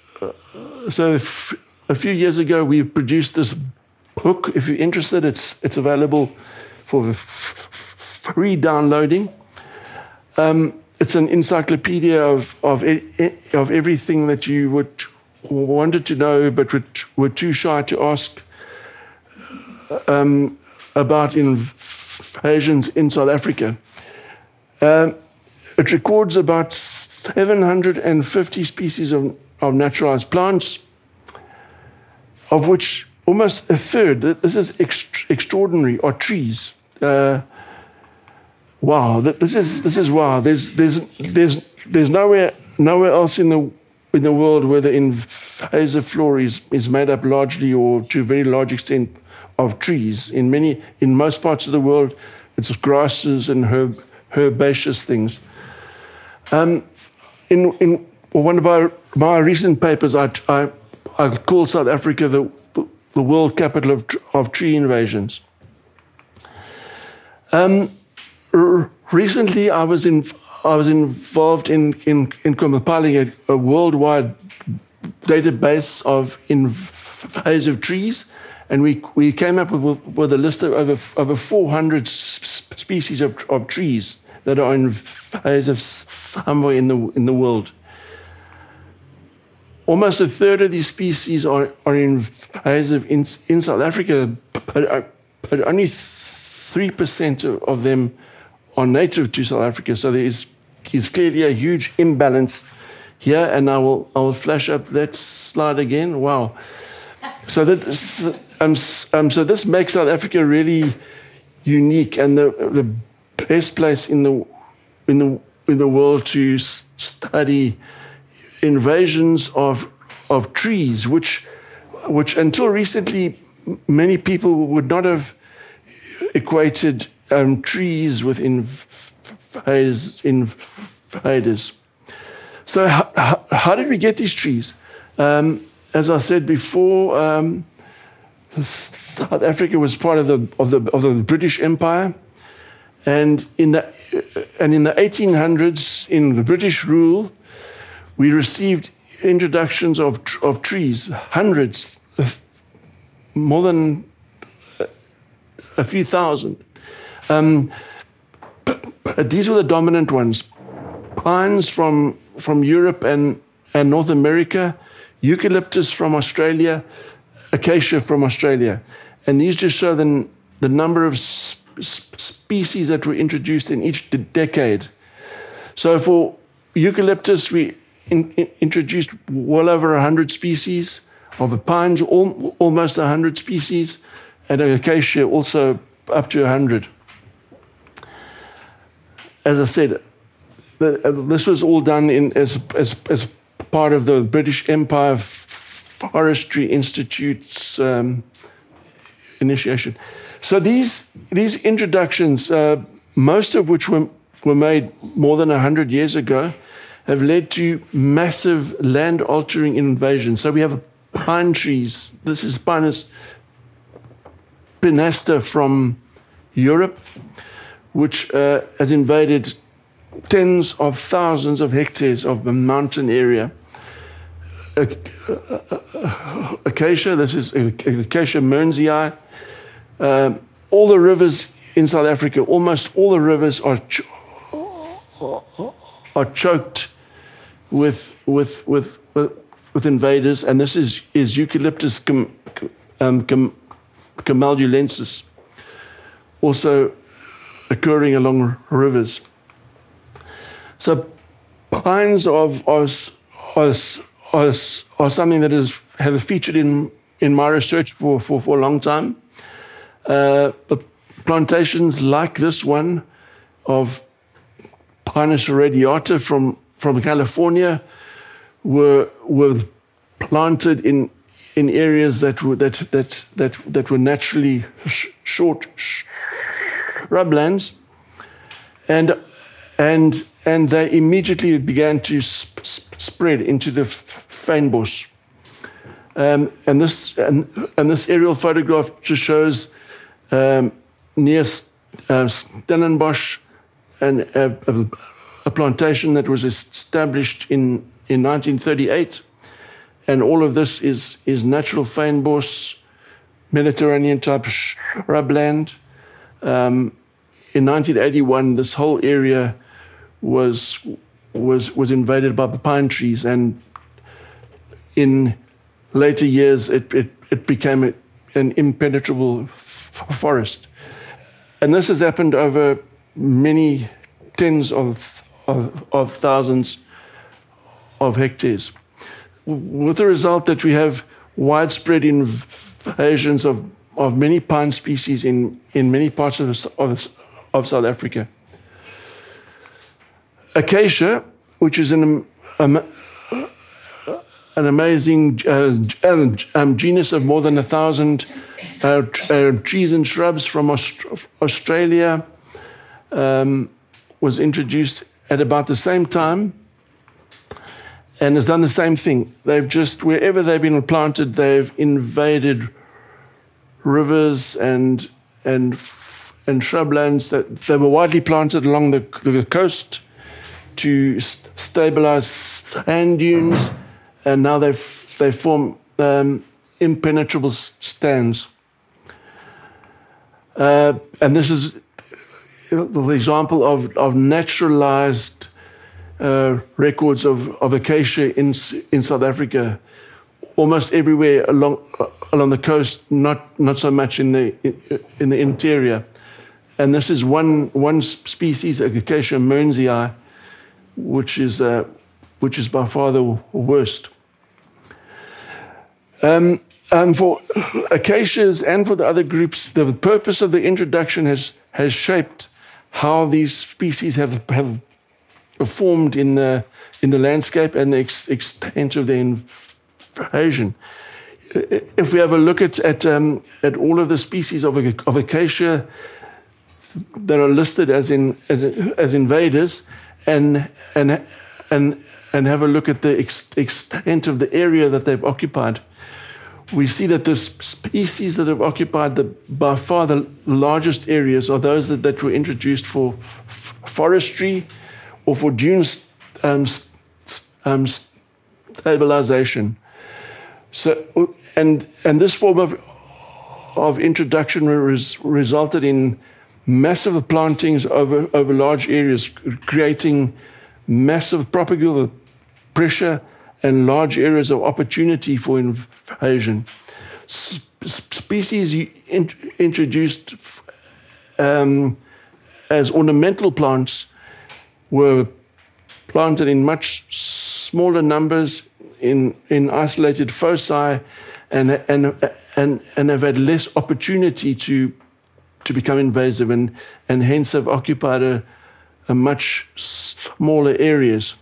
a few years ago we produced this book. If you're interested, it's available for free downloading. It's an encyclopedia of everything that you wanted to know but were too shy to ask about invasions in South Africa. It records about 750 species of naturalized plants, of which almost a third, this is extraordinary, are trees. Wow, this is wow. There's nowhere else in the world where the invasive flora is made up largely or to a very large extent of trees. In most parts of the world, it's grasses and herbaceous things. In one of my recent papers, I call South Africa the world capital of tree invasions. Recently, I was involved in compiling a worldwide database of invasive trees, and we came up with a list of over 400 species of trees that are invasive somewhere in the world. Almost a third of these species are invasive in South Africa, but only 3% of them are native to South Africa. So there is clearly a huge imbalance here, and I will flash up that slide again. Wow! So this makes South Africa really unique and the best place in the world to study invasions of trees, which until recently many people would not have equated trees with invaders. So how did we get these trees? As I said before, South Africa was part of the British Empire, and in the 1800s, in the British rule, we received introductions of trees, hundreds, more than a few thousand. But these were the dominant ones. Pines from Europe and North America, eucalyptus from Australia, acacia from Australia. And these just show the number of species that were introduced in each decade. So for eucalyptus, we introduced well over 100 species. Of the pines, almost 100 species. And acacia also up to 100. As I said, this was all done as part of the British Empire Forestry Institute's initiation. So these introductions, most of which were made more than 100 years ago, have led to massive land-altering invasions. So we have pine trees. This is Pinus pinasta from Europe, which has invaded tens of thousands of hectares of the mountain area. Acacia, this is Acacia mearnsii. All the rivers in South Africa, almost all the rivers are choked with invaders, and this is Eucalyptus camaldulensis, also occurring along rivers. So pines are something that have featured in my research for a long time. But plantations like this one of Pinus radiata from California were planted in areas that were naturally short shrublands, and they immediately began to spread into the fynbos. And this aerial photograph just shows near Stellenbosch and a plantation that was established in 1938. And all of this is natural fynbos, Mediterranean type shrubland. In 1981, this whole area was invaded by pine trees, and in later years it became an impenetrable forest. And this has happened over many tens of thousands of hectares, with the result that we have widespread invasions of many pine species in many parts of South Africa. Acacia, which is an amazing genus of more than 1,000 trees and shrubs from Australia, was introduced at about the same time and has done the same thing. They've just, wherever they've been planted, they've invaded rivers and shrublands that they were widely planted along the coast to stabilize sand dunes, and now they form impenetrable stands. And this is the example of naturalized records of acacia in South Africa, almost everywhere along the coast, not so much in the interior. And this is one species, Acacia mearnsii, which is by far the worst. For acacias and for the other groups, the purpose of the introduction has shaped how these species have formed in the landscape and the extent of their invasion. If we have a look at all of the species of acacia that are listed as invaders, and have a look at the extent of the area that they've occupied, we see that the species that have occupied by far the largest areas are those that were introduced for forestry or for dune stabilization. So, and this form of introduction resulted in massive plantings over large areas, creating massive propagule pressure and large areas of opportunity for invasion. Species introduced as ornamental plants were planted in much smaller numbers in isolated foci and have had less opportunity to become invasive and hence have occupied a much smaller areas.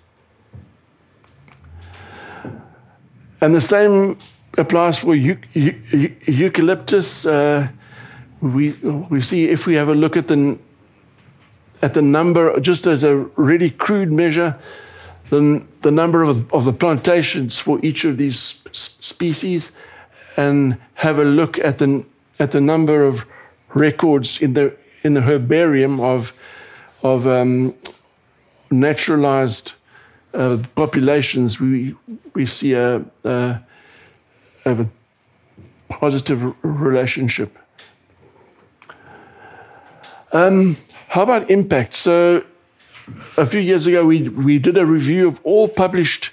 And the same applies for eucalyptus. We see, if we have a look at the number, just as a really crude measure, the number of the plantations for each of these species, and have a look at the number of records in the herbarium of naturalized populations, we see a positive relationship. How about impact? So a few years ago, we did a review of all published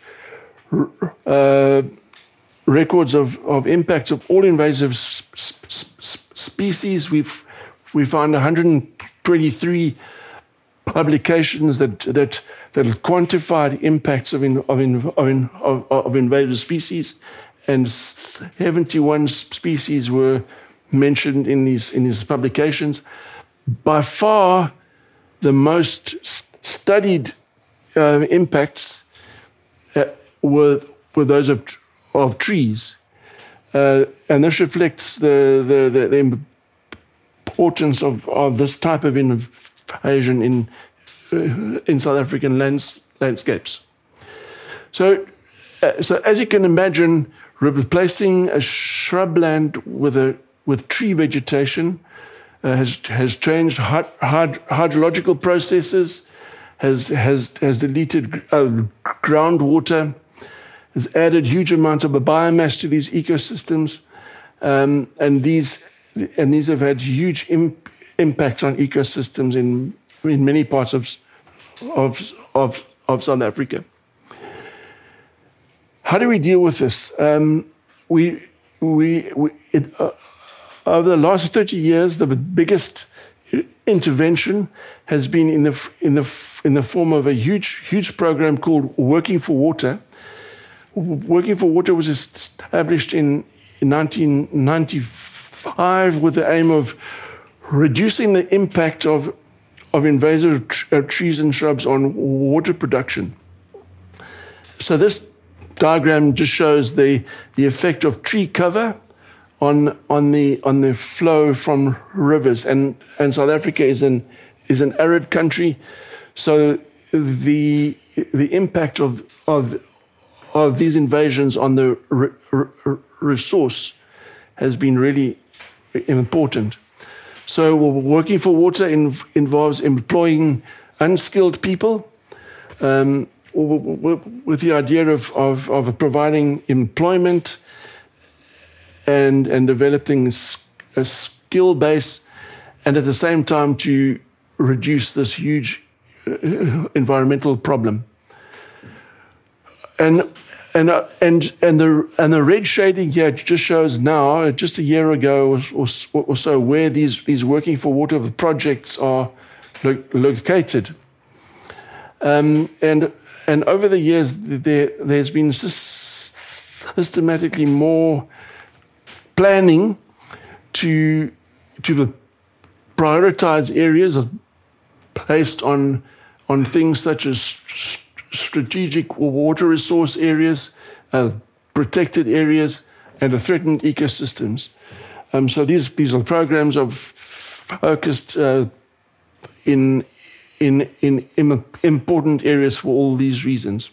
records of impacts of all invasive species. We found 123 publications that quantified impacts of invasive species, and 71 species were mentioned in these publications. By far, the most studied impacts were those of trees, and this reflects the importance of this type of invasion in South African landscapes. So as you can imagine, replacing a shrubland with tree vegetation has changed hydrological processes, has deleted groundwater, has added huge amounts of biomass to these ecosystems, and these have had huge impacts on ecosystems in many parts of South Africa. How do we deal with this? Over the last 30 years, the biggest intervention has been in the form of a huge program called Working for Water. Working for Water was established in 1995 with the aim of reducing the impact of invasive trees and shrubs on water production. So this diagram just shows the effect of tree cover on the flow from rivers, and South Africa is an arid country, so the impact of these invasions on the resource has been really important. So Working for Water involves employing unskilled people with the idea of providing employment and developing a skill base, and at the same time to reduce this huge environmental problem. And the red shading here just shows now, just a year ago or so, where these Working for Water projects are located. And over the years, there's been systematically more planning to prioritize areas based on things such as strategic water resource areas, protected areas, and threatened ecosystems. So these are programs of focused in important areas for all these reasons.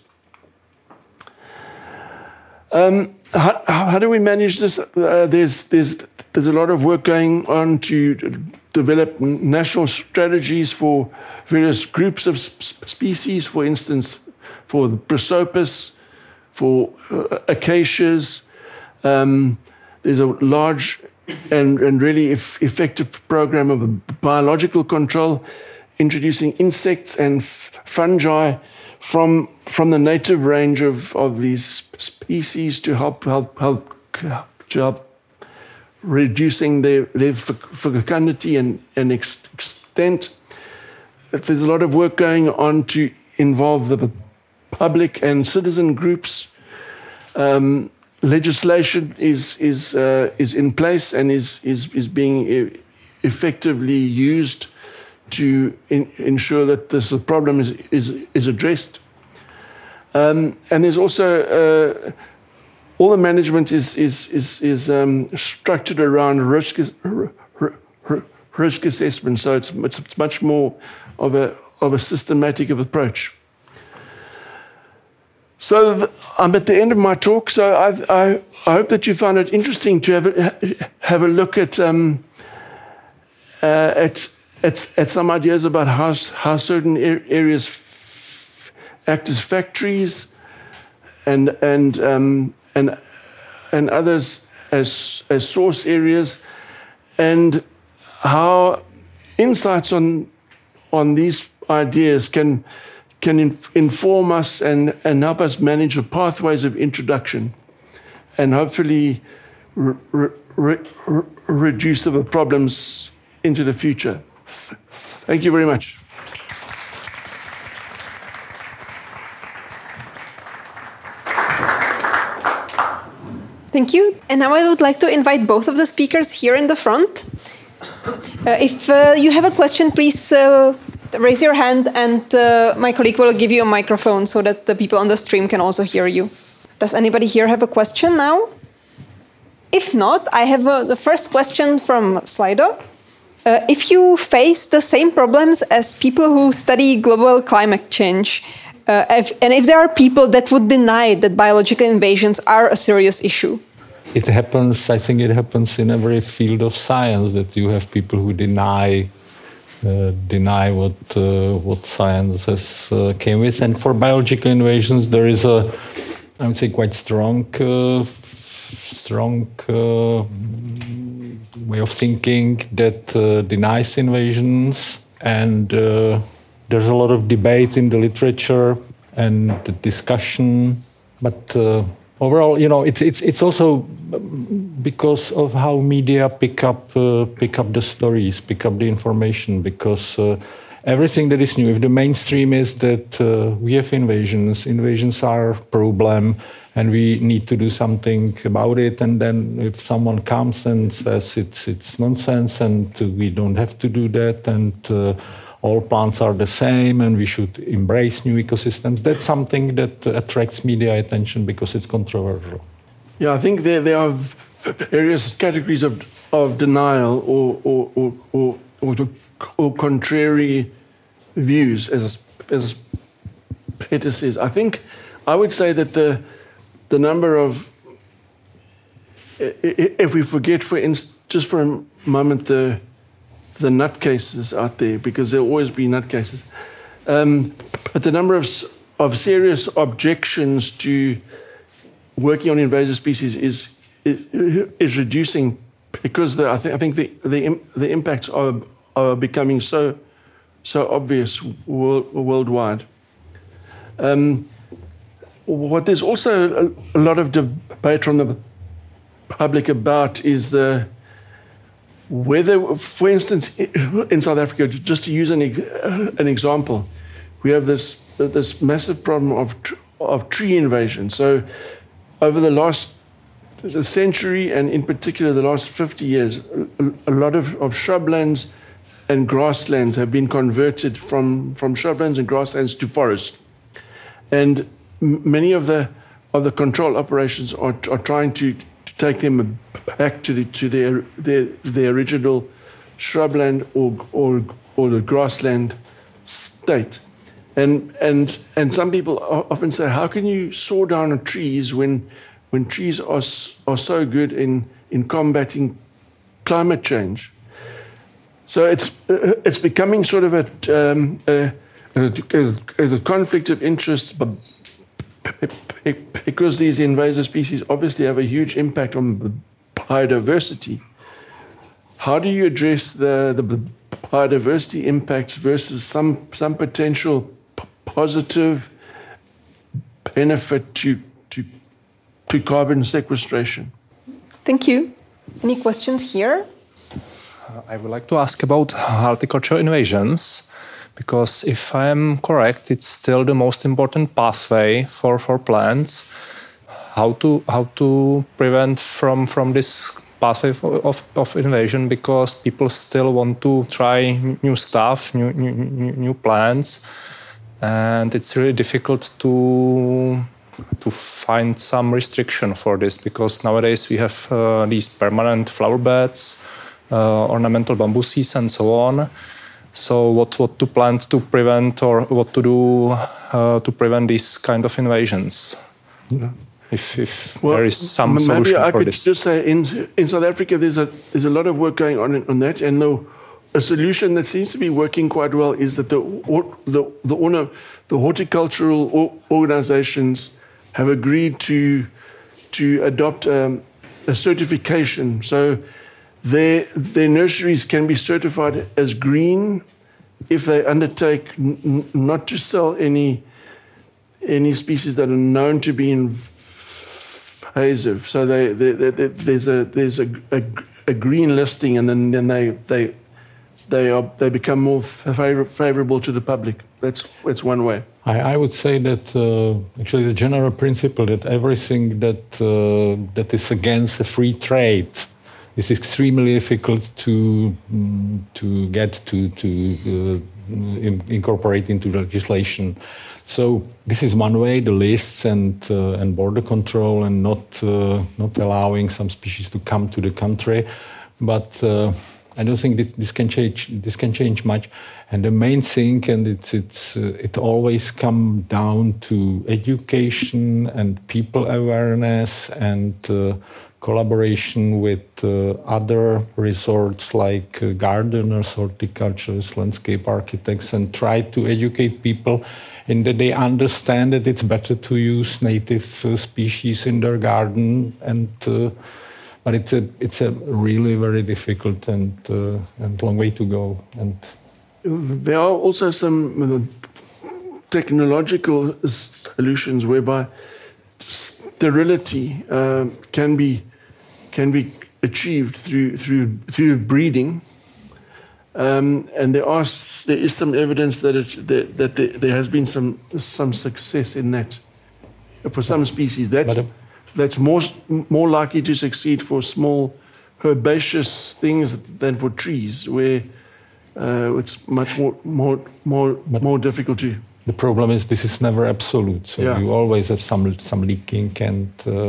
How do we manage this? There's a lot of work going on to develop national strategies for various groups of species. For instance, for the prosopis, acacias. There's a large and really effective program of biological control, introducing insects and fungi from the native range of these species to help reducing their fecundity and extent. There's a lot of work going on to involve the public and citizen groups. Legislation is in place and is being effectively used to ensure that this problem is addressed. And there's also all the management is structured around risk assessment. So it's much more of a systematic approach. So I'm at the end of my talk. So I hope that you found it interesting to have a look at some ideas about how certain areas act as factories, and others as source areas, and how insights on these ideas can inform us and help us manage the pathways of introduction, and hopefully reduce the problems into the future. Thank you very much. Thank you. And now I would like to invite both of the speakers here in the front. If you have a question, please raise your hand, and my colleague will give you a microphone so that the people on the stream can also hear you. Does anybody here have a question now? If not, I have the first question from Slido. If you face the same problems as people who study global climate change, if there are people that would deny that biological invasions are a serious issue? It happens, I think it happens in every field of science, that you have people who deny what science has came with. And for biological invasions, there is I would say, quite strong way of thinking that denies invasions, and there's a lot of debate in the literature and the discussion, but overall, it's also because of how media pick up the stories, pick up the information, because everything that is new, if the mainstream is that we have invasions are a problem, and we need to do something about it. And then if someone comes and says it's nonsense and we don't have to do that, and all plants are the same and we should embrace new ecosystems, that's something that attracts media attention because it's controversial. Yeah, I think there are various categories of denial or contrary views, as Peter says. I would say that the number of, if we forget, just for a moment, the nutcases out there, because there'll always be nutcases, but the number of serious objections to working on invasive species is reducing, because I think the impacts are becoming so obvious worldwide. What there's also a lot of debate from the public about is whether, for instance, in South Africa, just to use an example, we have this massive problem of tree invasion. So over the last century, and in particular the last 50 years, a lot of shrublands and grasslands have been converted from shrublands and grasslands to forests. And many of the control operations are trying to take them back to their original shrubland or the grassland state. And some people often say, how can you saw down trees when trees are so good in combating climate change? So it's becoming sort of a conflict of interests because these invasive species obviously have a huge impact on biodiversity, how do you address the biodiversity impacts versus some potential positive benefit to carbon sequestration? Thank you. Any questions here? I would like to ask about horticultural invasions, because if I am correct, it's still the most important pathway for plants. How to prevent from this pathway of invasion, because people still want to try new stuff, new plants, and it's really difficult to find some restriction for this, because nowadays we have these permanent flower beds, ornamental bambuses and so on. So what to plant to prevent, or what to do to prevent these kind of invasions? Yeah. If there is some solution for this. Maybe I could just say in South Africa there's a lot of work going on that, and a solution that seems to be working quite well is that the horticultural organizations have agreed to adopt a certification. So their nurseries can be certified as green if they undertake not to sell any species that are known to be invasive. So there's a green listing, and then they become more favorable to the public. That's one way. I would say that actually the general principle that everything that is against the free trade is extremely difficult to get to incorporate into legislation. So this is one way: the lists and border control, and not allowing some species to come to the country. But I don't think that this can change much. And the main thing, and it always comes down to education and people awareness and collaboration with other resorts like gardeners, horticulturists, landscape architects, and try to educate people in that they understand that it's better to use native species in their garden. And but it's a really very difficult and long way to go. And there are also some technological solutions whereby sterility can be achieved through breeding, and there is some evidence that there has been some success in that for some species. That's more likely to succeed for small herbaceous things than for trees, where it's much more difficult to. The problem is this is never absolute, so you always have some leaking, and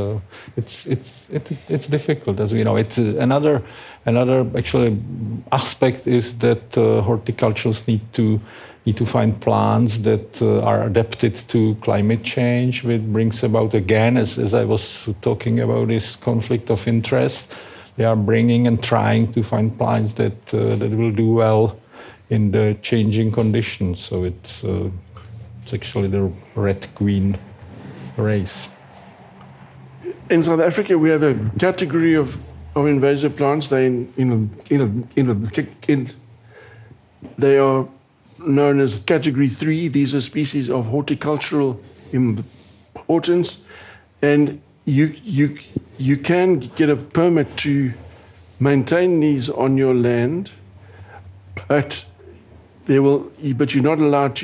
it's difficult, as we know. It's another actually aspect is that horticulturists need to find plants that are adapted to climate change, which brings about, again, as I was talking about, this conflict of interest. They are bringing and trying to find plants that will do well in the changing conditions. So it's actually the red queen race. In South Africa, we have a category of invasive plants. They are known as Category 3. These are species of horticultural importance, and you can get a permit to maintain these on your land, but you're not allowed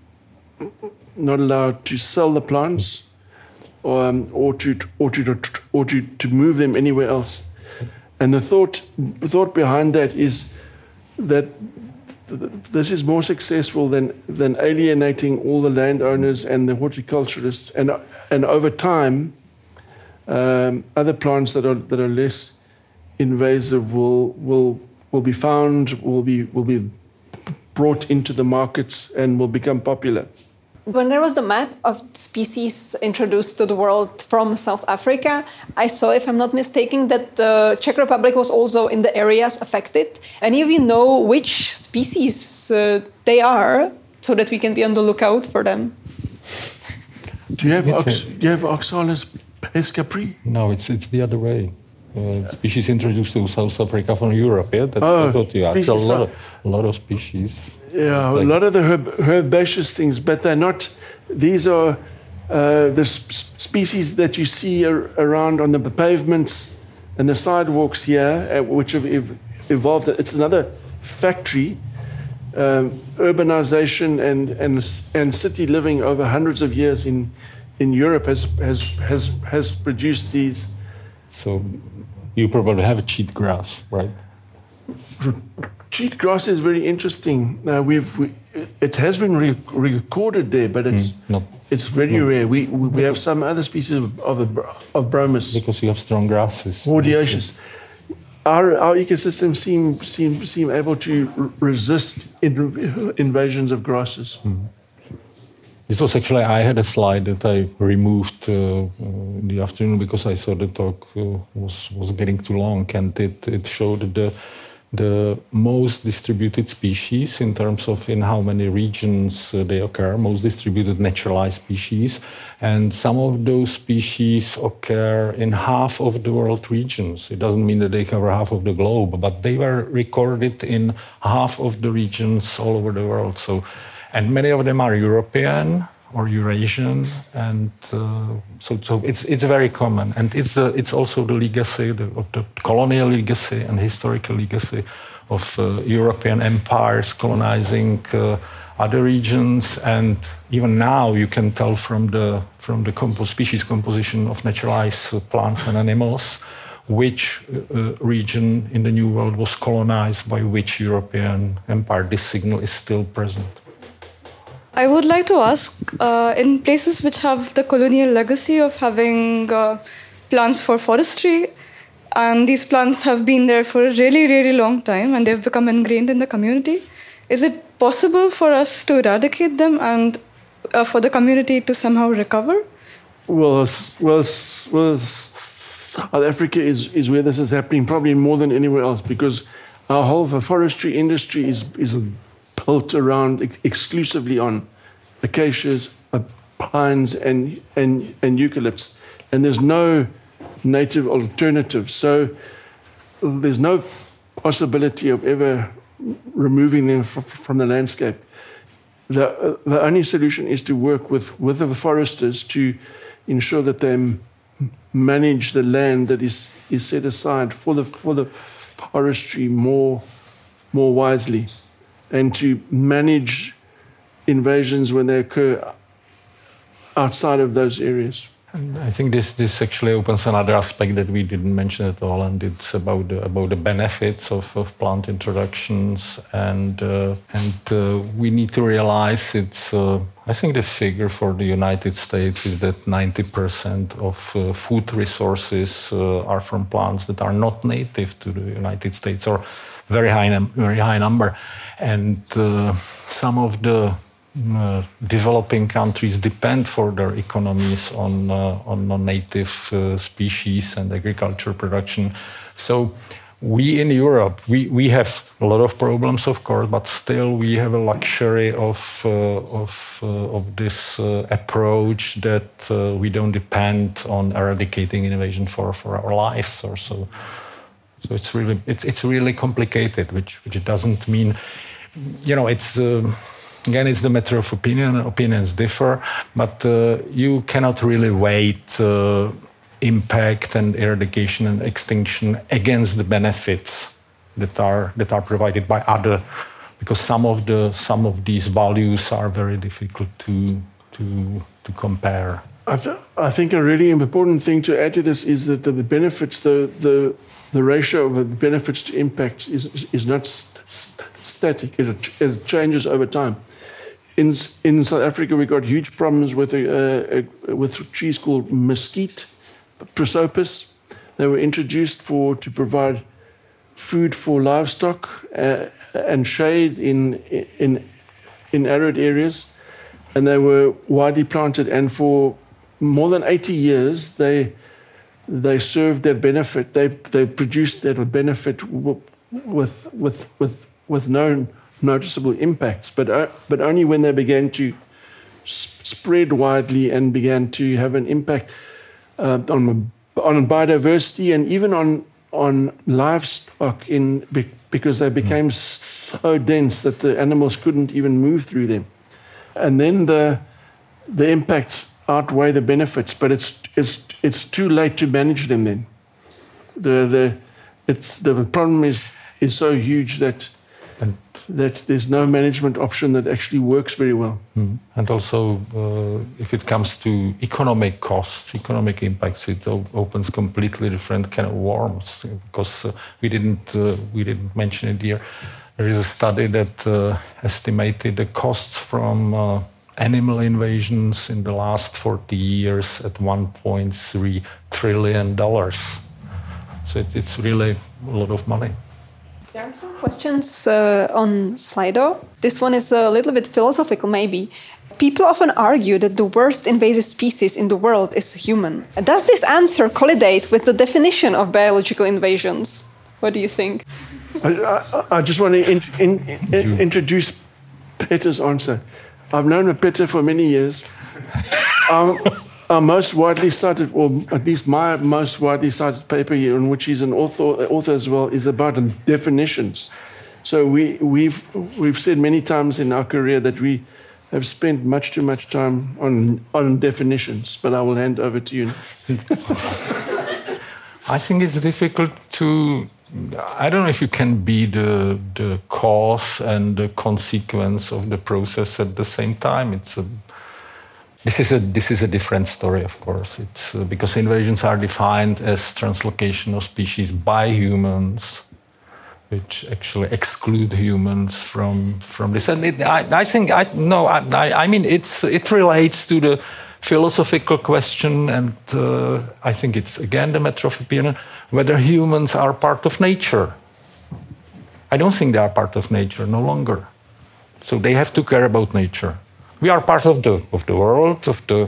to sell the plants or to move them anywhere else. And the thought behind that is that this is more successful than alienating all the landowners and the horticulturists, and over time, other plants that are less invasive will be found, will be brought into the markets, and will become popular. When there was the map of species introduced to the world from South Africa, I saw, if I'm not mistaken, that the Czech Republic was also in the areas affected. Any of you know which species they are, so that we can be on the lookout for them? Do you have Oxalis pescapri? No, it's the other way. Species introduced to South Africa from Europe. Yeah, that's what you asked. A lot of species. Yeah, a lot of the herbaceous things, but they're not. These are the species that you see around on the pavements and the sidewalks here, which have evolved. It's another factory. Urbanization and city living over hundreds of years in Europe has produced these. So you probably have a cheat grass, right? Cheat grass is very interesting. It has been recorded there, but it's very rare. We have some other species of bromus. Because you have strong grasses. More dioecious. Our ecosystem seem able to resist invasions of grasses. Mm. This was actually, I had a slide that I removed in the afternoon because I saw the talk was getting too long, and it showed the most distributed species in terms of in how many regions they occur, most distributed naturalized species. And some of those species occur in half of the world regions. It doesn't mean that they cover half of the globe, but they were recorded in half of the regions all over the world. So, and many of them are European or Eurasian, and so it's very common, and it's also the legacy of the colonial legacy and historical legacy of European empires colonizing other regions, and even now you can tell from the species composition of naturalized plants and animals which region in the New World was colonized by which European empire. This signal is still present. I would like to ask, in places which have the colonial legacy of having plants for forestry, and these plants have been there for a really, really long time, and they've become ingrained in the community, is it possible for us to eradicate them and for the community to somehow recover? Well, South Africa is where this is happening, probably more than anywhere else, because our whole forestry industry is built around exclusively on acacias, pines, and eucalypts, and there's no native alternative. So there's no possibility of ever removing them from the landscape. The only solution is to work with the foresters to ensure that they manage the land that is set aside for the forestry more wisely, and to manage invasions when they occur outside of those areas. And I think this actually opens another aspect that we didn't mention at all, and it's about the benefits of plant introductions, and we need to realize it's. I think the figure for the United States is that 90% of food resources are from plants that are not native to the United States, or very high number, and some of the developing countries depend for their economies on non-native species and agriculture production. So we in Europe, we have a lot of problems, of course, but still we have a luxury of this approach that we don't depend on eradicating invasion for our lives or so. So it's really complicated, which it doesn't mean, it's. Again, it's the matter of opinion. Opinions differ, but you cannot really weigh impact and eradication and extinction against the benefits that are provided by other, because some of these values are very difficult to compare. I think a really important thing to add to this is that the benefits, the ratio of the benefits to impact is not static. It changes over time. In South Africa, we got huge problems with trees called mesquite, prosopis. They were introduced to provide food for livestock and shade in arid areas, and they were widely planted. And for more than 80 years, they served that benefit. They produced that benefit with no noticeable impacts, but only when they began to spread widely and began to have an impact on biodiversity and even on livestock because they became so dense that the animals couldn't even move through them. And then the impacts outweigh the benefits, but it's too late to manage them then. The problem is so huge that there's no management option that actually works very well. And also, if it comes to economic costs, economic impacts, it opens completely different kind of worms. Because we didn't mention it here. There is a study that estimated the costs from animal invasions in the last 40 years at $1.3 trillion. So it's really a lot of money. There are some questions on Slido. This one is a little bit philosophical, maybe. People often argue that the worst invasive species in the world is human. Does this answer collide with the definition of biological invasions? What do you think? I just want to introduce Peter's answer. I've known Peter for many years. Our most widely cited, or at least my most widely cited paper here, in which he's an author as well, is about definitions. So we've said many times in our career that we have spent much too much time on definitions. But I will hand over to you. I think it's difficult to. I don't know if you can be the cause and the consequence of the process at the same time. This is a different story, of course. It's because invasions are defined as translocation of species by humans, which actually exclude humans from this. And it relates to the philosophical question, and I think it's again the matter of opinion whether humans are part of nature. I don't think they are part of nature no longer. So they have to care about nature. We are part of the world, of the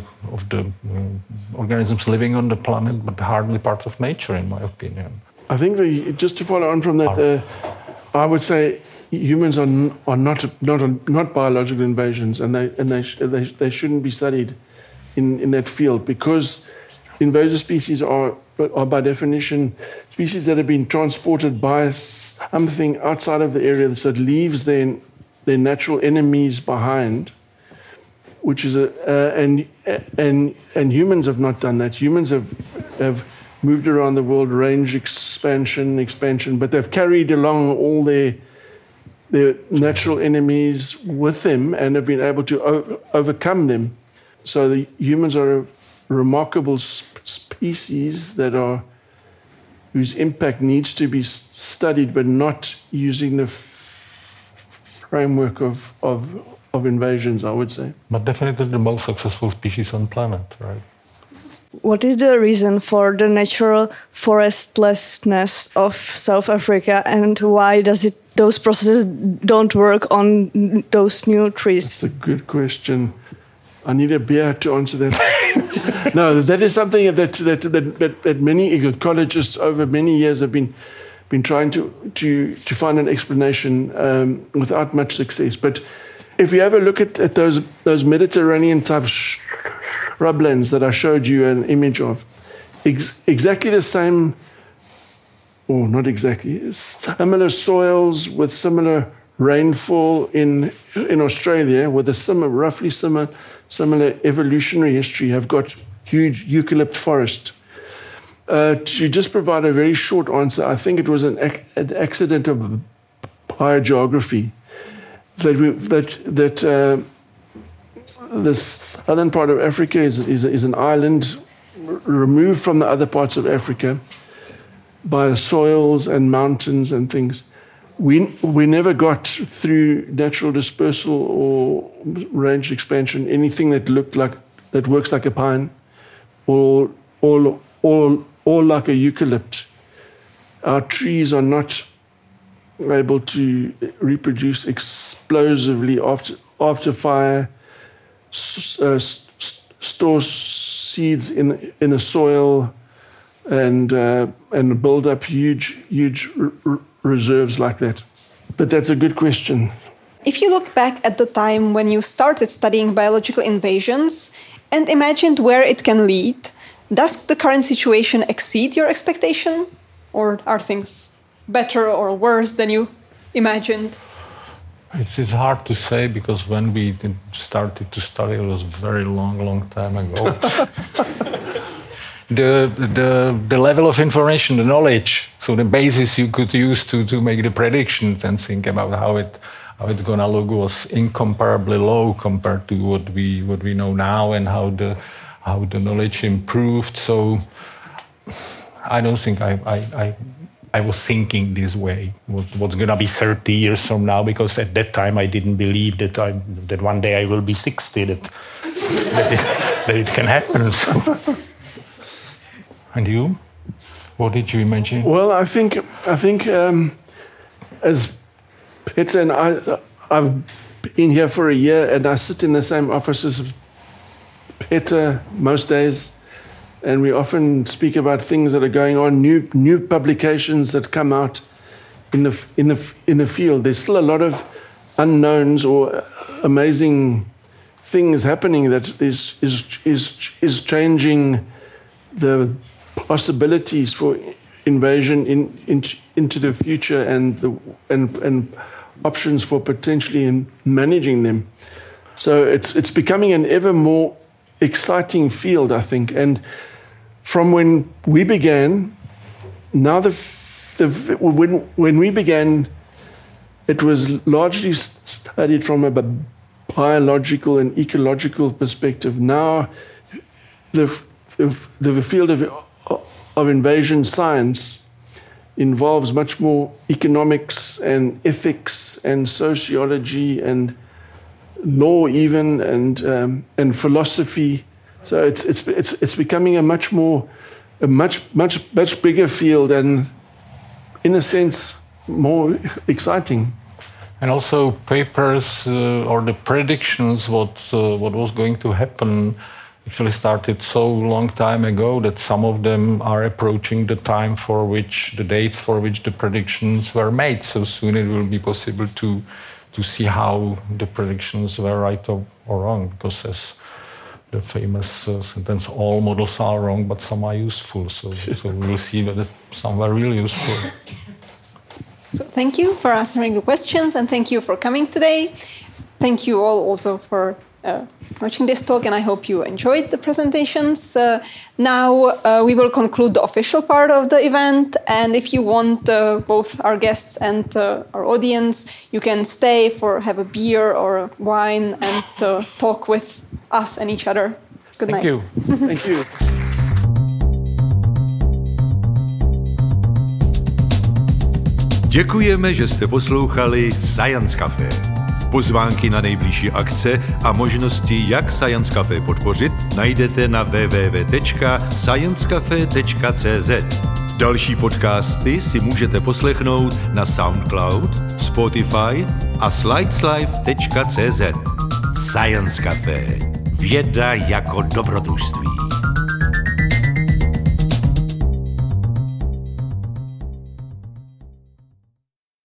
organisms living on the planet, but hardly part of nature, in my opinion. I think just to follow on from that, I would say humans are not biological invasions, and they shouldn't be studied in that field, because invasive species are by definition species that have been transported by something outside of the area that leaves their natural enemies behind. Which is and humans have not done that. Humans have moved around the world, range expansion, but they've carried along all their natural enemies with them and have been able to overcome them. So the humans are a remarkable species whose impact needs to be studied, but not using the framework of invasions, I would say. But definitely the most successful species on the planet, right? What is the reason for the natural forestlessness of South Africa, and why those processes don't work on those new trees? That's a good question. I need a beer to answer that. No, that is something that many ecologists over many years have been trying to find an explanation without much success. But if you have a look at those Mediterranean type shrublands that I showed you an image of, exactly the same, or not exactly, similar soils with similar rainfall in Australia, with a roughly similar evolutionary history, have got huge eucalypt forest. To just provide a very short answer, I think it was an accident of biogeography. That the southern part of Africa is an island removed from the other parts of Africa by soils and mountains and things. We never got through natural dispersal or range expansion anything that works like a pine or like a eucalypt. Our trees are not able to reproduce explosively after fire, store seeds in the soil, and build up huge reserves like that. But that's a good question. If you look back at the time when you started studying biological invasions and imagined where it can lead, does the current situation exceed your expectation? Or are things better or worse than you imagined? It's hard to say because when we started to study, it was a very long time ago. The level of information, the knowledge, so the basis you could use to make the predictions and think about how it's gonna look was incomparably low compared to what we know now and how the knowledge improved. So I don't think I was thinking this way. What's gonna be 30 years from now? Because at that time I didn't believe that one day I will be 60. That it can happen. So. And you? What did you imagine? Well, I think as Peter and I've been here for a year, and I sit in the same office as Peter most days, and we often speak about things that are going on, new publications that come out in the field. There's still a lot of unknowns or amazing things happening that is changing the possibilities for invasion into the future and options for potentially managing them. So it's becoming an ever more exciting field, I think. And from when we began, now when we began, it was largely studied from a biological and ecological perspective. Now the field of invasion science involves much more economics and ethics and sociology and law even and philosophy. So it's becoming a much bigger field and in a sense more exciting. And also papers or the predictions what was going to happen actually started so long time ago that some of them are approaching the time for which the dates for which the predictions were made. So soon it will be possible to see how the predictions were right or wrong, because as the famous sentence, all models are wrong, but some are useful. So we'll see whether some were really useful. So thank you for answering the questions and thank you for coming today. Thank you all also for watching this talk, and I hope you enjoyed the presentations. Now we will conclude the official part of the event, and if you want both our guests and our audience, you can stay for have a beer or a wine and talk with us and each other. Good night. Thank you. Thank you. Děkujeme, že jste poslouchali Science Café. Pozvánky na nejbližší akce a možnosti, jak Science Café podpořit, najdete na www.sciencecafe.cz. Další podcasty si můžete poslechnout na SoundCloud, Spotify a slideslife.cz. Science Café. Věda jako dobrodružství.